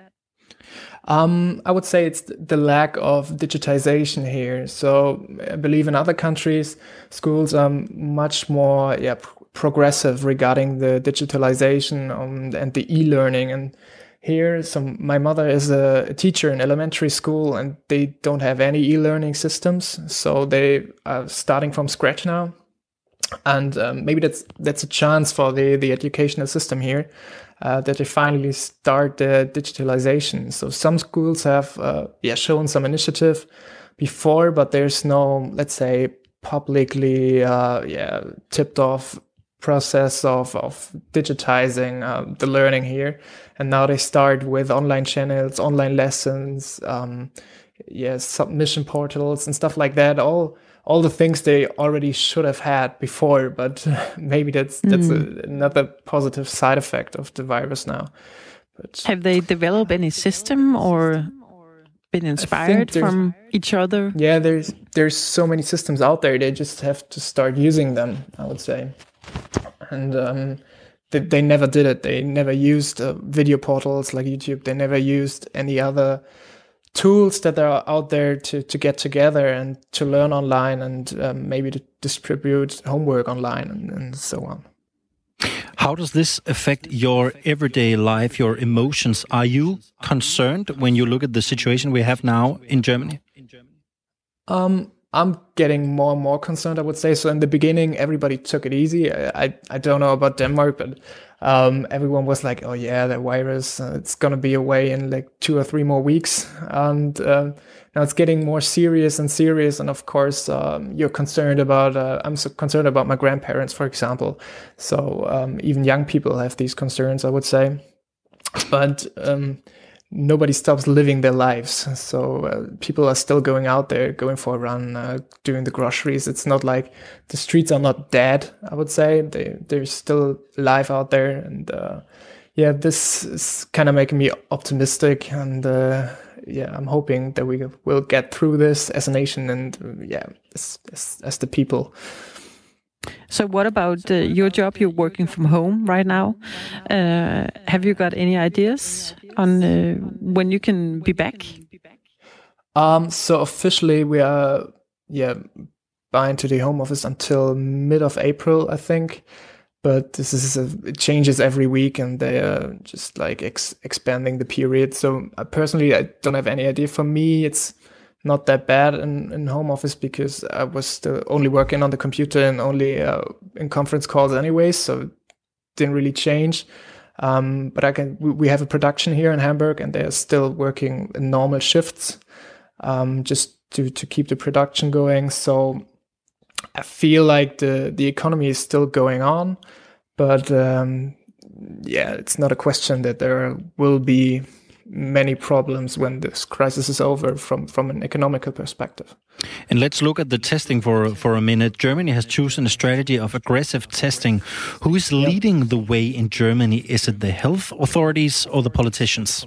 Um, I would say it's the lack of digitization here. So I believe in other countries, schools are much more yeah progressive regarding the digitalization um, and the e-learning. And here, so my mother is a, a teacher in elementary school, and they don't have any e-learning systems, so they are starting from scratch now. And um, maybe that's that's a chance for the, the educational system here, uh, that they finally start the digitalization. So some schools have uh, yeah shown some initiative before, but there's no, let's say, publicly uh, yeah tipped off process of, of digitizing uh, the learning here. And now they start with online channels, online lessons, um, yeah, submission portals and stuff like that. All all the things they already should have had before, but maybe that's that's mm. a, another positive side effect of the virus now. But have they developed any system or been inspired from each other? Yeah, there's there's so many systems out there. They just have to start using them, I would say. And um, they, they never did it. They never used uh, video portals like YouTube. They never used any other tools that are out there to, to get together and to learn online, and um, maybe to distribute homework online and, and so on. How does this affect your everyday life, your emotions? Are you concerned when you look at the situation we have now in Germany? Um. I'm getting more and more concerned, I would say. So in the beginning, everybody took it easy. I I, I don't know about Denmark, but um, everyone was like, oh yeah, that virus, uh, it's going to be away in like two or three more weeks. And um, now it's getting more serious and serious. And of course, um, you're concerned about, uh, I'm so concerned about my grandparents, for example. So um, even young people have these concerns, I would say. But um, nobody stops living their lives. So uh, people are still going out there, going for a run, uh, doing the groceries. It's not like the streets are not dead, I would say. They, there's still life out there. And uh, yeah, this is kind of making me optimistic. And uh, yeah, I'm hoping that we will get through this as a nation and uh, yeah, as, as, as the people. So what about uh, your job? You're working from home right now. Uh, have you got any ideas on uh, when you can be back? Um, so officially we are, yeah, bound to the home office until mid of April, I think. But this is a, it changes every week, and they are just like ex- expanding the period. So uh, personally, I don't have any idea. For me, it's not that bad in, in home office because I was still only working on the computer and only uh, in conference calls anyway, so it didn't really change. Um, but I can. We, we have a production here in Hamburg, and they are still working in normal shifts, um, just to to keep the production going. So I feel like the the economy is still going on, but um, yeah, it's not a question that there will be many problems when this crisis is over from, from an economical perspective. And let's look at the testing for for a minute. Germany has chosen a strategy of aggressive testing. Who is leading yep. the way in Germany? Is it the health authorities or the politicians?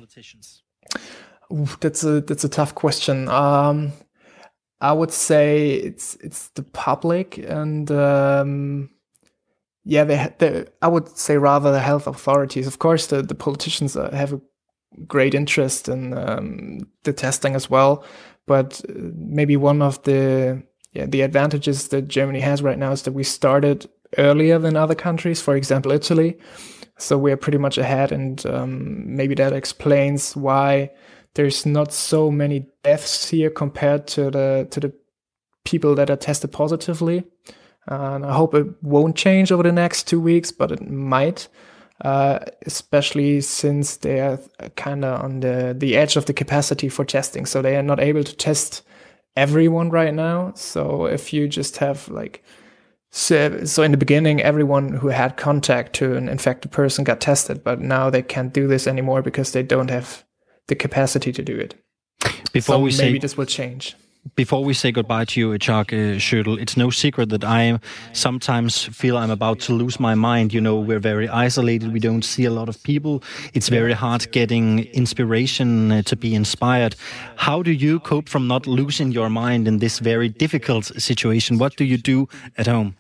Ooh, that's a that's a tough question. Um, I would say it's it's the public, and um, yeah, they, they I would say rather the health authorities. Of course, the the politicians have a great interest in um, the testing as well, but maybe one of the yeah the advantages that Germany has right now is that we started earlier than other countries, for example Italy, so we're pretty much ahead, and um, maybe that explains why there's not so many deaths here compared to the to the people that are tested positively. Uh, and I hope it won't change over the next two weeks, but it might. Uh, especially since they are kind of on the, the edge of the capacity for testing. So they are not able to test everyone right now. So if you just have like, so, so in the beginning, everyone who had contact to an infected person got tested, but now they can't do this anymore because they don't have the capacity to do it. Before so we maybe say- this will change. Before we say goodbye to you, Chuck uh, Schödel, it's no secret that I sometimes feel I'm about to lose my mind. You know, we're very isolated. We don't see a lot of people. It's very hard getting inspiration uh, to be inspired. How do you cope from not losing your mind in this very difficult situation? What do you do at home?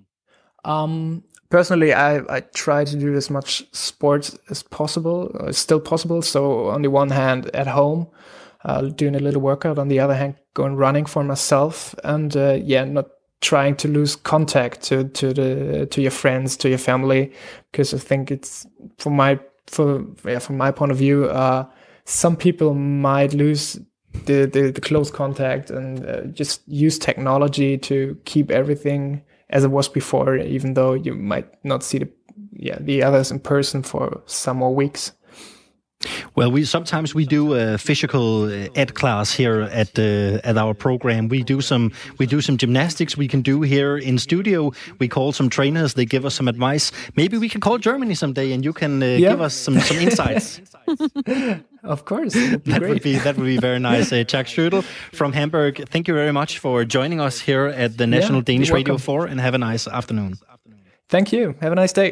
Um, personally, I, I try to do as much sports as possible, uh, still possible. So on the one hand, at home, Uh, doing a little workout, on the other hand, going running for myself, and uh, yeah, not trying to lose contact to to the to your friends, to your family, because I think it's from my for yeah, from my point of view, uh, some people might lose the the, the close contact and uh, just use technology to keep everything as it was before, even though you might not see the yeah the others in person for some more weeks. Well, we sometimes we do a physical ed class here at uh, at our program. We do some we do some gymnastics we can do here in studio. We call some trainers. They give us some advice. Maybe we can call Germany someday, and you can uh, yeah. give us some some insights. Of course, that great. would be that would be very nice. Uh, Chuck Schödel from Hamburg, thank you very much for joining us here at the National yeah, Danish Radio four, and have a nice afternoon. Thank you. Have a nice day.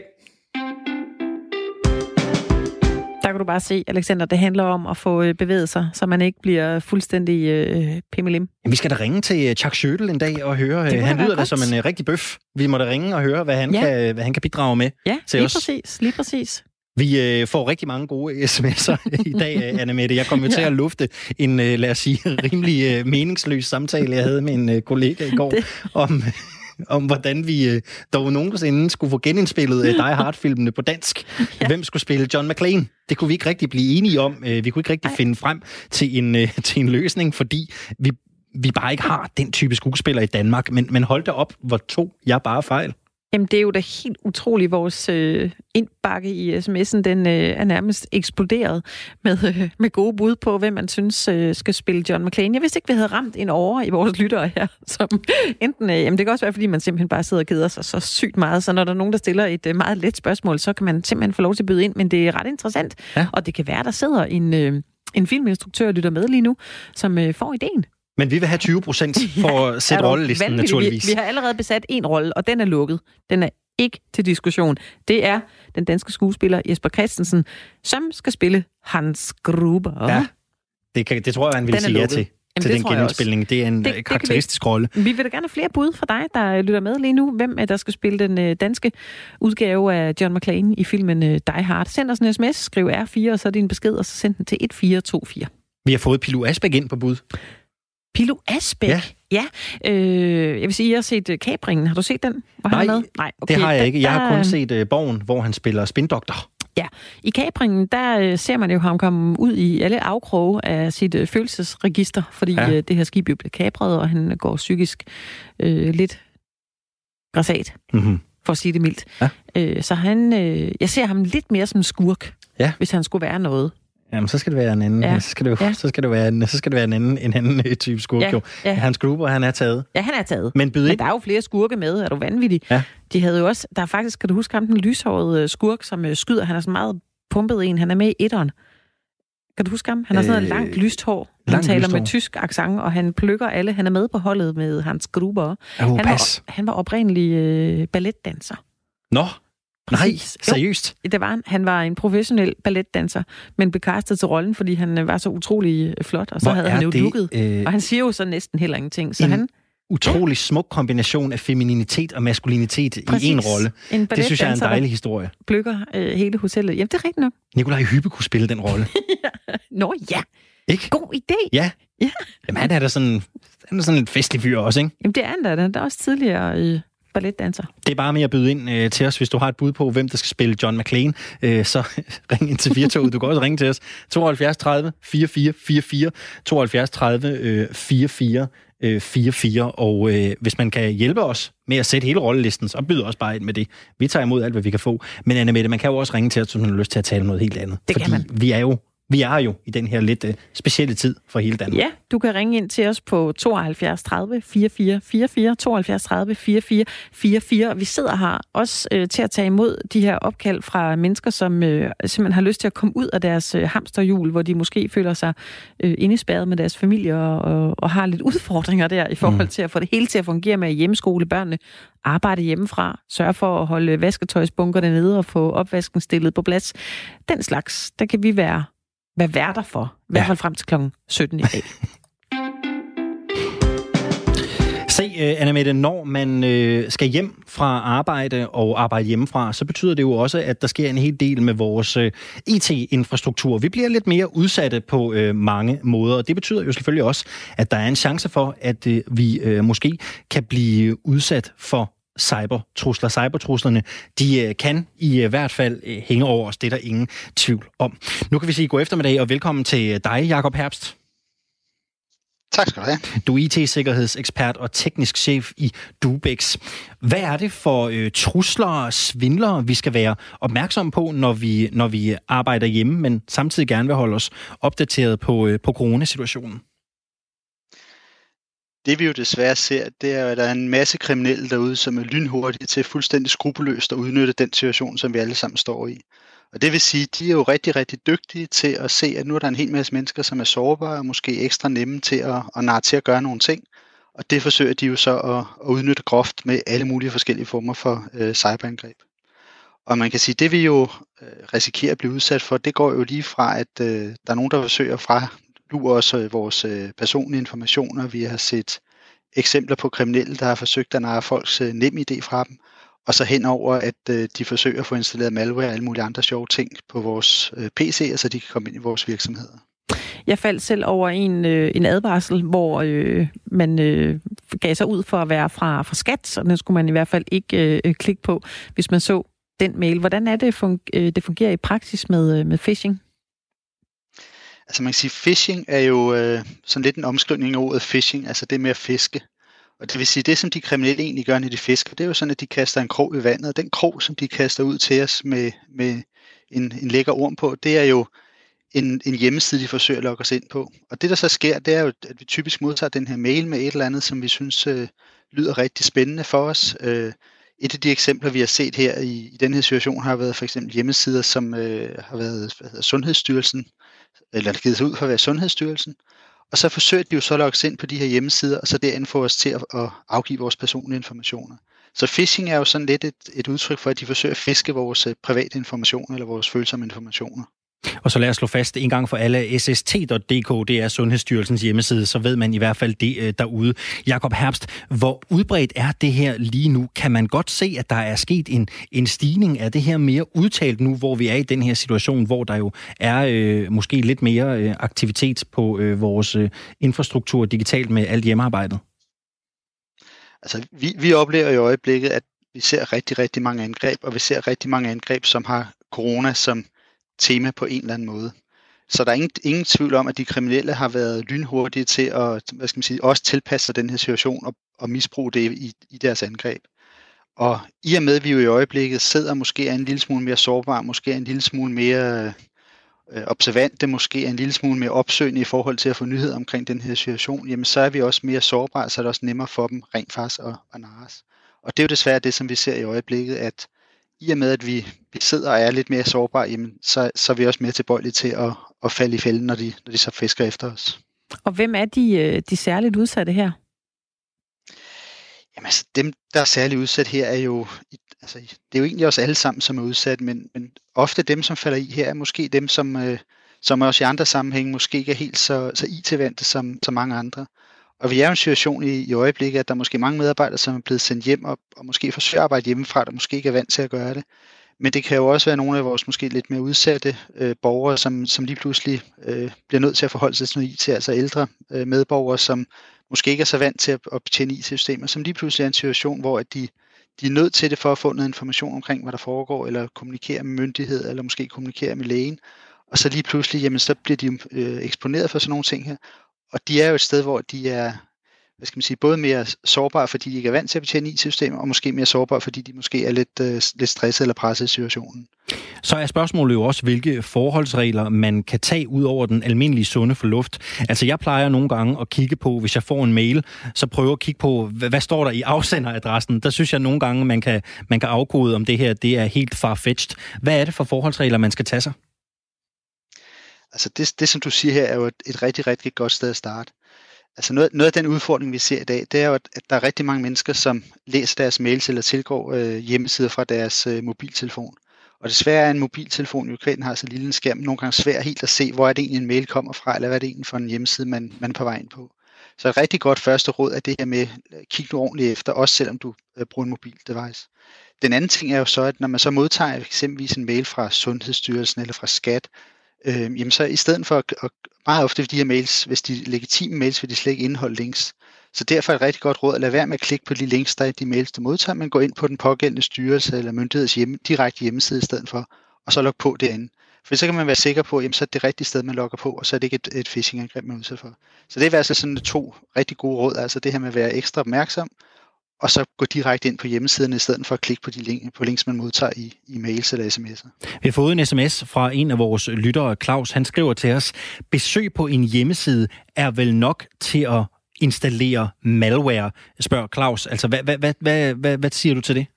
Der kan du bare se, Alexander, det handler om at få bevæget sig, så man ikke bliver fuldstændig øh, pimmelim. Vi skal da ringe til Chuck Schödel en dag og høre. Han lyder da som en uh, rigtig bøf. Vi må da ringe og høre, hvad han, ja. kan, hvad han kan bidrage med ja, til lige os. præcis, lige præcis. Vi øh, får rigtig mange gode sms'er i dag, Anne-Mette. Jeg kom jo til at lufte en, øh, lad os sige, rimelig øh, meningsløs samtale, jeg havde med en øh, kollega i går det. om... om hvordan vi øh, dog nogensinde skulle få genindspillet øh, Die Hard-filmene på dansk. Ja. Hvem skulle spille John McClane? Det kunne vi ikke rigtig blive enige om. Øh, vi kunne ikke rigtig Ej. finde frem til en, øh, til en løsning, fordi vi, vi bare ikke har den type skuespiller i Danmark. Men, men hold da op, hvor tog jeg bare fejl. Jamen, det er jo da helt utroligt. Vores øh, indbakke i sms'en, den øh, er nærmest eksploderet med, øh, med gode bud på, hvem man synes øh, skal spille John McClane. Jeg vidste ikke, vi havde ramt en over i vores lyttere her, som enten, øh, jamen det kan også være, fordi man simpelthen bare sidder og keder sig så sygt meget, så når der er nogen, der stiller et øh, meget let spørgsmål, så kan man simpelthen få lov til at byde ind, men det er ret interessant, ja. Og det kan være, der sidder en... Øh, en filminstruktør lytter med lige nu, som øh, får ideen. Men vi vil have tyve procent for at sætte rollelisten, naturligvis. Vi, vi har allerede besat en rolle, og den er lukket. Den er ikke til diskussion. Det er den danske skuespiller Jesper Christensen, som skal spille Hans Gruber. Ja, det, kan, det tror jeg, han vil sige ja til. Jamen, til den genindspilning. Det er en det, karakteristisk det rolle. Vi vil da gerne have flere bud fra dig, der lytter med lige nu. Hvem er der skal spille den danske udgave af John McClane i filmen Die Hard? Send os en sms, skriv R fire, og så din besked, og så send den til et fire to fire. Vi har fået Pilo Asbæk ind på bud. Pilo Asbæk? Ja. ja. Øh, jeg vil sige, jeg har set Kapringen. Har du set den? Var Nej, med? Nej okay. Det har jeg ikke. Jeg har kun set uh, Borgen, hvor han spiller spindoktor. Ja, i Kapringen, der øh, ser man jo ham komme ud i alle afkroge af sit øh, følelsesregister, fordi ja. øh, det her skib jo bliver kapret, og han går psykisk øh, lidt grassat, mm-hmm. for at sige det mildt. Ja. Øh, så han, øh, jeg ser ham lidt mere som en skurk, ja. hvis han skulle være noget. Jamen, så skal det være en anden. Ja. Så skal det jo, ja. så skal det være en, så skal det være en anden, en anden type skurk. Ja. Ja. Hans Gruber, han er taget. Ja, han er taget. Men, Men der er jo flere skurke med. Er du vanvittig? Ja. De havde jo også, der er faktisk, kan du huske ham, den lyshårede skurk, som øh, skyder. Han er så meget pumpet en. Han er med i etteren. Kan du huske ham? Han har sådan øh, noget langt lyst hår. Han langt taler lysthår. Med tysk accent, og han plukker alle. Han er med på holdet med Hans Gruber. Oh, han, var, han var oprindelig øh, balletdanser. Nå. Nej, seriøst? Jo, det var han. Han var en professionel balletdanser, men blev castet til rollen, fordi han var så utrolig flot, og så Hvor havde han jo det, lukket. Øh... Og han siger jo så næsten heller ingenting. Så en han... utrolig smuk kombination af femininitet og maskulinitet Præcis. i en rolle. En det synes jeg er en dejlig historie. Plukker øh, hele hotellet. Jamen, det er rigtigt nok. Nikolaj Hübbe kunne spille den rolle. ja. Nå ja, ikke? God idé. Ja. ja. Jamen, han er da sådan, han er sådan en festlig fyr også, ikke? Jamen, det er han da. Han er også tidligere... Øh... balletdanser. Det er bare med at byde ind øh, til os, hvis du har et bud på, hvem der skal spille John McClane. Øh, så ring ind til Firtoget. Du kan også ringe til os. tooghalvfjerds tredive fireogfyrre fireogfyrre tooghalvfjerds tredive fireogfyrre fireogfyrre. Og øh, hvis man kan hjælpe os med at sætte hele rollelisten, så byder også bare ind med det. Vi tager imod alt, hvad vi kan få. Men Anne-Mette, man kan jo også ringe til os, hvis man har lyst til at tale om noget helt andet. Det Fordi kan man. vi er jo Vi er jo i den her lidt uh, specielle tid for hele Danmark. Ja, du kan ringe ind til os på tooghalvfjerds tredive fireogfyrre fireogfyrre, tooghalvfjerds tredive fireogfyrre fireogfyrre. Vi sidder her også uh, til at tage imod de her opkald fra mennesker, som uh, simpelthen har lyst til at komme ud af deres uh, hamsterhjul, hvor de måske føler sig uh, indespærret med deres familie og, og, og har lidt udfordringer der i forhold mm. til at få det hele til at fungere med hjemmeskole, børnene, arbejde hjemmefra, sørge for at holde vasketøjsbunkerne nede og få opvasken stillet på plads. Den slags, der kan vi være Hvad værter for? I hvert fald frem til klokken sytten i dag. Se, uh, Anne-Mette, når man uh, skal hjem fra arbejde og arbejde hjemmefra, så betyder det jo også, at der sker en hel del med vores uh, I T-infrastruktur. Vi bliver lidt mere udsatte på uh, mange måder, og det betyder jo selvfølgelig også, at der er en chance for, at uh, vi uh, måske kan blive udsat for cybertrusler. Cybertruslerne, de uh, kan i uh, hvert fald uh, hænge over os. Det er der ingen tvivl om. Nu kan vi sige god eftermiddag og velkommen til dig, Jakob Herbst. Tak skal du have. Du er I T-sikkerhedsekspert og teknisk chef i Dubex. Hvad er det for uh, trusler og svindlere, vi skal være opmærksomme på, når vi, når vi arbejder hjemme, men samtidig gerne vil holde os opdateret på, uh, på coronasituationen? Det vi jo desværre ser, det er, at der er en masse kriminelle derude, som er lynhurtige til fuldstændig skrupelløst at udnytte den situation, som vi alle sammen står i. Og det vil sige, de er jo rigtig, rigtig dygtige til at se, at nu er der en hel masse mennesker, som er sårbare og måske ekstra nemme til at, at narre til at gøre nogle ting. Og det forsøger de jo så at, at udnytte groft med alle mulige forskellige former for øh, cyberangreb. Og man kan sige, at det vi jo øh, risikerer at blive udsat for, det går jo lige fra, at øh, der er nogen, der forsøger fra lure os øh, vores øh, personlige informationer. Vi har set eksempler på kriminelle, der har forsøgt at narre folks øh, NemID fra dem. Og så henover, at øh, de forsøger at få installeret malware og alle mulige andre sjove ting på vores øh, P C'er, så de kan komme ind i vores virksomheder. Jeg faldt selv over en, øh, en advarsel, hvor øh, man øh, gav sig ud for at være fra, fra skat, så den skulle man i hvert fald ikke øh, klikke på, hvis man så den mail. Hvordan er det, fun- øh, det fungerer i praksis med, med phishing? Altså man kan sige, phishing er jo øh, sådan lidt en omskrivning af ordet phishing, altså det med at fiske. Og det vil sige, det som de kriminelle egentlig gør, når de fisker, det er jo sådan, at de kaster en krog i vandet, og den krog, som de kaster ud til os med, med en, en lækker orm på, det er jo en, en hjemmeside, de forsøger at logge os ind på. Og det, der så sker, det er jo, at vi typisk modtager den her mail med et eller andet, som vi synes øh, lyder rigtig spændende for os. Øh, et af de eksempler, vi har set her i, i den her situation, har været for eksempel hjemmesider, som øh, har været hvad hedder, Sundhedsstyrelsen eller givet sig ud for at være Sundhedsstyrelsen, og så forsøger de jo så at logge sig ind på de her hjemmesider, og så derinde få os til at, at afgive vores personlige informationer. Så phishing er jo sådan lidt et, et udtryk for, at de forsøger at fiske vores private informationer eller vores følsomme informationer. Og så lad os slå fast en gang for alle, S S T punktum d k, det er Sundhedsstyrelsens hjemmeside, så ved man i hvert fald det derude. Jakob Herbst, hvor udbredt er det her lige nu? Kan man godt se, at der er sket en, en stigning af det her mere udtalt nu, hvor vi er i den her situation, hvor der jo er øh, måske lidt mere øh, aktivitet på øh, vores øh, infrastruktur digitalt med alt hjemmearbejdet? Altså, vi, vi oplever i øjeblikket, at vi ser rigtig, rigtig mange angreb, og vi ser rigtig mange angreb, som har corona som tema på en eller anden måde. Så der er ingen, ingen tvivl om, at de kriminelle har været lynhurtige til at, hvad skal man sige, også tilpasse sig den her situation og, og misbruge det i, i deres angreb. Og i og med, at vi jo i øjeblikket sidder måske er en lille smule mere sårbare, måske er en lille smule mere øh, observante, måske er en lille smule mere opsøgende i forhold til at få nyheder omkring den her situation, jamen så er vi også mere sårbare, så er det også nemmere for dem rent faktisk at, at narres. Og det er jo desværre det, som vi ser i øjeblikket, at i og med, at vi, vi sidder og er lidt mere sårbare, jamen, så, så er vi også mere tilbøjelige til at, at falde i fælden, når de, når de så fisker efter os. Og hvem er de, de særligt udsatte her? Jamen altså, dem, der er særligt udsat her, er jo, altså, det er jo egentlig også alle sammen, som er udsat, men, men ofte dem, som falder i her, er måske dem, som, øh, som også i andre sammenhænge måske ikke er helt så, så I T-vante som, som mange andre. Og vi er jo i en situation i, i øjeblikket, at der er måske mange medarbejdere, som er blevet sendt hjem og, og måske forsøger at arbejde hjemmefra, der måske ikke er vant til at gøre det. Men det kan jo også være nogle af vores måske lidt mere udsatte øh, borgere, som, som lige pludselig øh, bliver nødt til at forholde sig til noget I T, altså ældre øh, medborgere, som måske ikke er så vant til at, at betjene I T-systemer, som lige pludselig er en situation, hvor at de, de er nødt til det for at få noget information omkring, hvad der foregår, eller kommunikere med myndighed, eller måske kommunikere med lægen. Og så lige pludselig, jamen, så bliver de øh, eksponeret for sådan nogle ting her. Og de er jo et sted, hvor de er, hvad skal man sige, både mere sårbare, fordi de ikke er vant til at betjene I T-systemer, og måske mere sårbare, fordi de måske er lidt, øh, lidt stresset eller presset i situationen. Så er spørgsmålet jo også, hvilke forholdsregler man kan tage ud over den almindelige sunde fornuft. Altså jeg plejer nogle gange at kigge på, hvis jeg får en mail, så prøver at kigge på, hvad, hvad står der i afsenderadressen. Der synes jeg nogle gange, man kan, man kan afkode, om det her det er helt farfetched. Hvad er det for forholdsregler, man skal tage sig? Altså det, det som du siger her, er jo et, et rigtig, rigtig godt sted at starte. Altså noget, noget af den udfordring, vi ser i dag, det er jo, at, at der er rigtig mange mennesker, som læser deres mails eller tilgår øh, hjemmesider fra deres øh, mobiltelefon. Og desværre er en mobiltelefon, jo kvæden har så lille en skærm, nogle gange svært helt at se, hvor er det egentlig en mail kommer fra, eller hvad er det egentlig for en hjemmeside, man, man er på vej ind på. Så et rigtig godt første råd er det her med, kig nu ordentligt efter, også selvom du øh, bruger en mobil device. Den anden ting er jo så, at når man så modtager eksempelvis en mail fra Sundhedsstyrelsen eller fra Skat, øh, jamen så i stedet for at, at meget ofte de her mails, hvis de er legitime mails, vil de slet ikke indeholde links. Så derfor er et rigtig godt råd at lade være med at klikke på de links, der er i de mails, du modtager, men gå ind på den pågældende styrelse eller myndigheds hjemme, direkte hjemmeside i stedet for, og så logge på derinde. For så kan man være sikker på, at så er det det rigtige sted, man logger på, og så er det ikke et, et phishing-angreb, man er udsat for. Så det er altså sådan to rigtig gode råd, altså det her med at være ekstra opmærksom, og så gå direkte ind på hjemmesiderne, i stedet for at klikke på de link, på links, man modtager i, i mails eller sms'er. Vi har fået en sms fra en af vores lyttere, Claus. Han skriver til os, besøg på en hjemmeside er vel nok til at installere malware, spørger Claus. Altså, hvad, hvad, hvad, hvad, hvad, hvad siger du til det?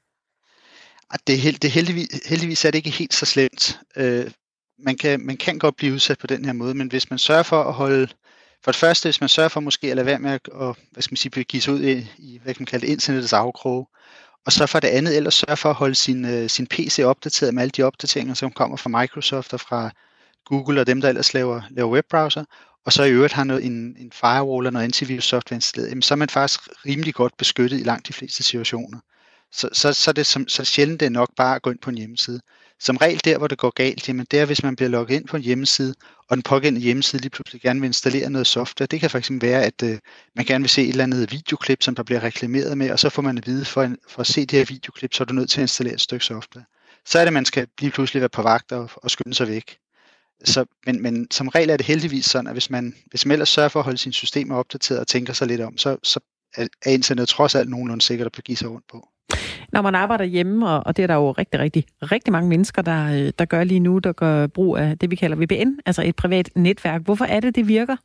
Det er, held, det er heldigvis, heldigvis er det ikke helt så slemt. Øh, man, kan, man kan godt blive udsat på den her måde, men hvis man sørger for at holde, for det første, hvis man sørger for måske at lade være med at, og, hvad skal man sige, give sig ud i, i, hvad kan man kalde det, internettets afkroge, og så for det andet, ellers sørge for at holde sin, uh, sin P C opdateret med alle de opdateringer, som kommer fra Microsoft og fra Google og dem, der ellers laver, laver webbrowser, og så i øvrigt har noget, en, en firewall og noget antivirus software installeret, jamen, så er man faktisk rimelig godt beskyttet i langt de fleste situationer. Så, så, så, det, så, så sjældent det er nok bare at gå ind på en hjemmeside. Som regel der, hvor det går galt, jamen det er, hvis man bliver logget ind på en hjemmeside, og den pågældende hjemmeside lige pludselig gerne vil installere noget software. Det kan fx være, at øh, man gerne vil se et eller andet videoklip, som der bliver reklameret med, og så får man at vide, for, for at se det her videoklip, så er du nødt til at installere et stykke software. Så er det, at man skal lige pludselig være på vagt og, og skynde sig væk. Så, men, men som regel er det heldigvis sådan, at hvis man, hvis man ellers sørger for at holde sine systemer opdateret og tænker sig lidt om, så, så er internet trods alt nogenlunde sikkert at begive sig rundt på. Når man arbejder hjemme, og det er der jo rigtig, rigtig, rigtig mange mennesker, der, der gør lige nu, der gør brug af det, vi kalder V P N, altså et privat netværk. Hvorfor er det, det virker?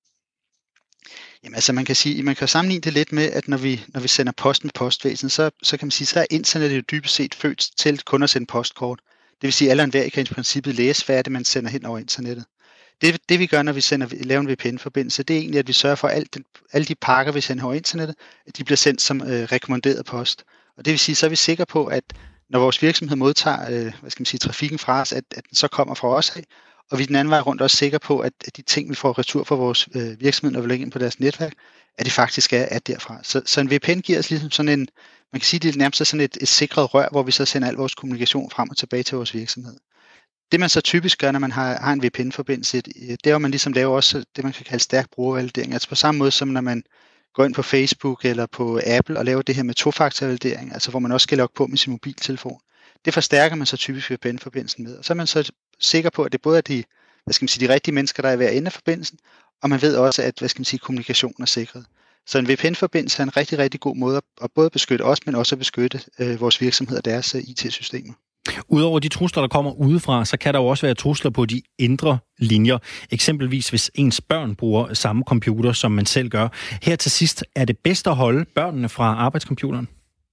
Jamen altså man kan sige, man kan sammenligne det lidt med, at når vi, når vi sender post med postvæsen, så, så kan man sige, så er internettet jo dybest set født til kun at sende postkort. Det vil sige, at alle og enhver kan i princippet læse, hvad er det, man sender hen over internettet. Det, det vi gør, når vi sender, laver en V P N-forbindelse, det er egentlig, at vi sørger for, at alt den, alle de pakker, vi sender over internettet, at de bliver sendt som øh, rekommanderet post. Og det vil sige, så er vi sikre på, at når vores virksomhed modtager øh, hvad skal man sige, trafikken fra os, at, at den så kommer fra os af, og vi den anden vej rundt også sikre på, at, at de ting, vi får retur fra vores øh, virksomhed, når vi lægger ind på deres netværk, at det faktisk er, er derfra. Så, så en V P N giver os ligesom sådan en, man kan sige, det er nærmest sådan et, et sikret rør, hvor vi så sender al vores kommunikation frem og tilbage til vores virksomhed. Det man så typisk gør, når man har, har en V P N-forbindelse, det er jo, at man ligesom laver også det, man kan kalde stærk brugervalidering. Altså på samme måde som når man går ind på Facebook eller på Apple og laver det her med tofaktorvalidering, altså hvor man også skal logge på med sin mobiltelefon. Det forstærker man så typisk V P N-forbindelsen med. Og så er man så sikker på, at det både er de, hvad skal man sige, de rigtige mennesker, der er ved at ende af forbindelsen, og man ved også, at hvad skal man sige, kommunikationen er sikret. Så en V P N-forbindelse er en rigtig, rigtig god måde at både beskytte os, men også at beskytte øh, vores virksomhed og deres øh, I T-systemer. Udover de trusler, der kommer udefra, så kan der jo også være trusler på de indre linjer. Eksempelvis hvis ens børn bruger samme computer, som man selv gør. Her til sidst, er det bedst at holde børnene fra arbejdscomputeren?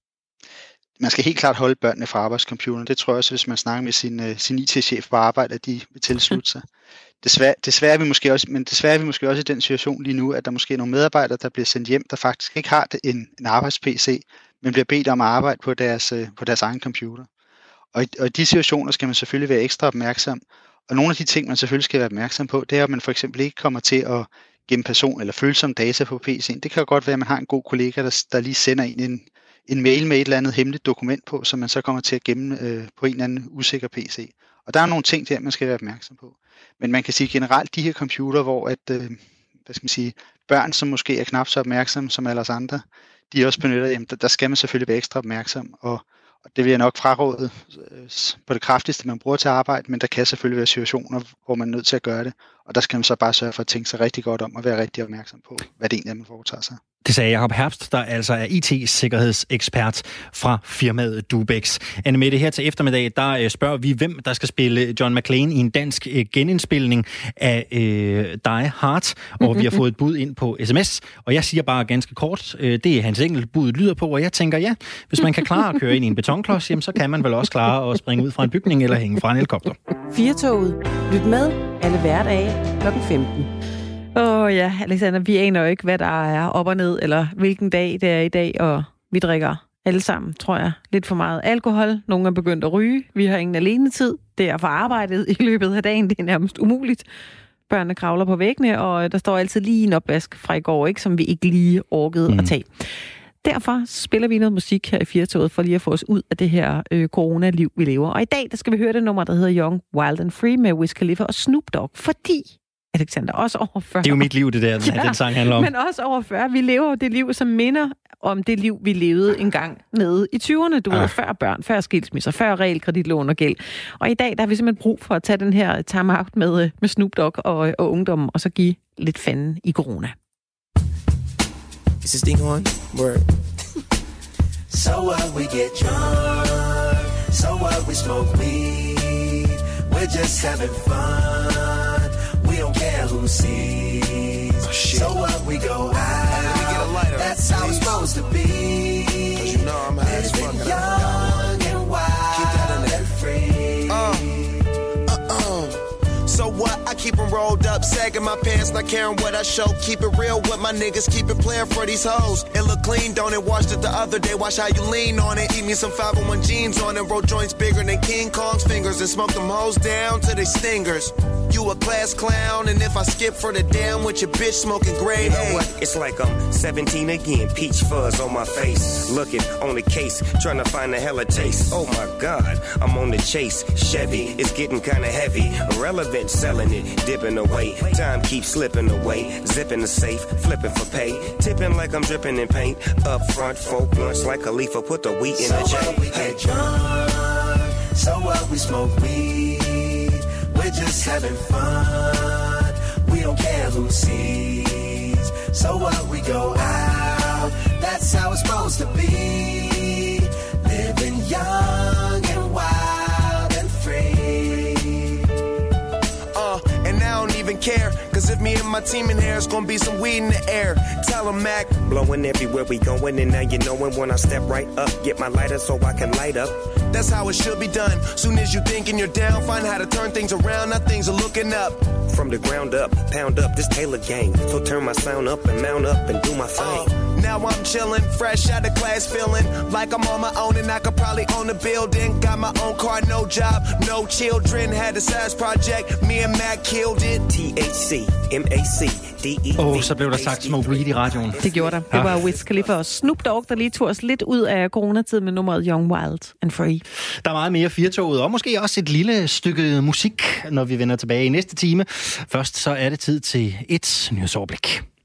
Man skal helt klart holde børnene fra arbejdscomputeren. Det tror jeg også, hvis man snakker med sin, uh, sin I T-chef på arbejde, at de vil tilslutte sig. Desværre, desværre er vi måske også, men desværre er vi måske også i den situation lige nu, at der måske er nogle medarbejdere, der bliver sendt hjem, der faktisk ikke har en, en arbejds-P C, men bliver bedt om at arbejde på deres, uh, på deres egen computer. Og i, og i de situationer skal man selvfølgelig være ekstra opmærksom. Og nogle af de ting, man selvfølgelig skal være opmærksom på, det er, at man for eksempel ikke kommer til at gemme person eller følsomme data på P C'en. Det kan jo godt være, at man har en god kollega, der, der lige sender en, en, en mail med et eller andet hemmeligt dokument på, som man så kommer til at gemme øh, på en eller anden usikker P C. Og der er nogle ting der, man skal være opmærksom på. Men man kan sige generelt, de her computer, hvor at, øh, hvad skal man sige, børn, som måske er knap så opmærksomme som alle os andre, de også benytter, jamen, der, der skal man selvfølgelig være ekstra opmærksom. Og Og det vil jeg nok fraråde på det kraftigste, man bruger til at arbejde, men der kan selvfølgelig være situationer, hvor man er nødt til at gøre det. Og der skal man så bare sørge for at tænke sig rigtig godt om og være rigtig opmærksom på, hvad det egentlig er, man foretager sig. Det sagde Jacob Herbst, der altså er I T-sikkerhedsekspert fra firmaet Dubex. Annemette, her til eftermiddag, der spørger vi, hvem der skal spille John McClane i en dansk genindspilning af øh, Die Hard. Og vi har fået et bud ind på sms, og jeg siger bare ganske kort, øh, det er hans enkelt bud lyder på, og jeg tænker, ja, hvis man kan klare at køre ind i en betonklods, jamen, så kan man vel også klare at springe ud fra en bygning eller hænge fra en helikopter. Firtoget. Lyt med alle hverdage klokken femten. Åh oh, ja, Alexander, vi aner jo ikke, hvad der er op og ned, eller hvilken dag det er i dag, og vi drikker alle sammen, tror jeg, lidt for meget alkohol. Nogle er begyndt at ryge. Vi har ingen alenetid. Det er for arbejdet i løbet af dagen. Det er nærmest umuligt. Børnene kravler på væggene, og der står altid lige en opvask fra i går, ikke, som vi ikke lige orkede mm. at tage. Derfor spiller vi noget musik her i Firtoget, for lige at få os ud af det her øh, coronaliv, vi lever. Og i dag, der skal vi høre det nummer, der hedder Young, Wild and Free med Wiz Khalifa og Snoop Dogg, fordi Alexander, også over fyrre. Det er jo mit liv, det der, ja, den sang handler om. Men også over fyrre. Vi lever det liv, som minder om det liv, vi levede engang nede i tyverne. Du ah. ved, før børn, før skilsmisser, før realkreditlån og gæld. Og i dag, der har vi simpelthen brug for at tage den her time-out med, med Snoop Dogg og, og ungdommen, og så give lidt fanden i corona. Is this thing on? Word. So what, we get drunk. So what, we smoke weed. We're just having fun. We don't care who sees. Oh, shit. So what, we go out. We get a lighter. That's how it's supposed to be. Cause you know I'm high as fuck. Young and wild and free. Uh. So what? I keep them rolled up, sagging my pants, not caring what I show. Keep it real with my niggas, keep it playing for these hoes. It look clean, don't it? Washed it the other day, watch how you lean on it. Eat me some five oh one jeans on it, roll joints bigger than King Kong's fingers, and smoke them hoes down to they stingers. You a class clown, and if I skip for the damn with your bitch smoking grade, you know what? It's like I'm seventeen again, peach fuzz on my face. Looking on the case, trying to find a hella taste. Oh my God, I'm on the chase. Chevy, it's getting kinda heavy. Irrelevant, selling it, dipping away. Time keeps slipping away. Zipping the safe, flipping for pay. Tipping like I'm dripping in paint. Up front, folk blunts like a leaf, put the wheat in the chain. So what, we get drunk. So what, we smoke weed. We're just having fun. We don't care who sees. So what, we go out. That's how it's supposed to be. Living young and wild and free. Uh, and I don't even care. Cause if me and my team in here, it's gonna be some weed in the air. Tell them, Mac. Blowing everywhere we going, and now you knowin' when I step right up. Get my lighter so I can light up. That's how it should be done. Soon as you thinking you're down, find how to turn things around. Now things are looking up. From the ground up, pound up this Taylor gang. So turn my sound up and mount up and do my thing. Uh, now I'm chillin', fresh out of class, feeling like I'm on my own and I could probably own a building. Got my own car, no job, no children. Had a size project, me and Mac killed it. T H C, M A C, D E V. Åh, oh, så blev der sagt Smoke Weed i radioen. Det gjorde der. Det var Wiz Khalifa og Snoop Dogg, der lige tog os lidt ud af coronatiden med nummeret Young, Wild and Free. Der er meget mere firtoget, og måske også et lille stykke musik, når vi vender tilbage i næste time. Først så er det tid til et nyhedsoverblik.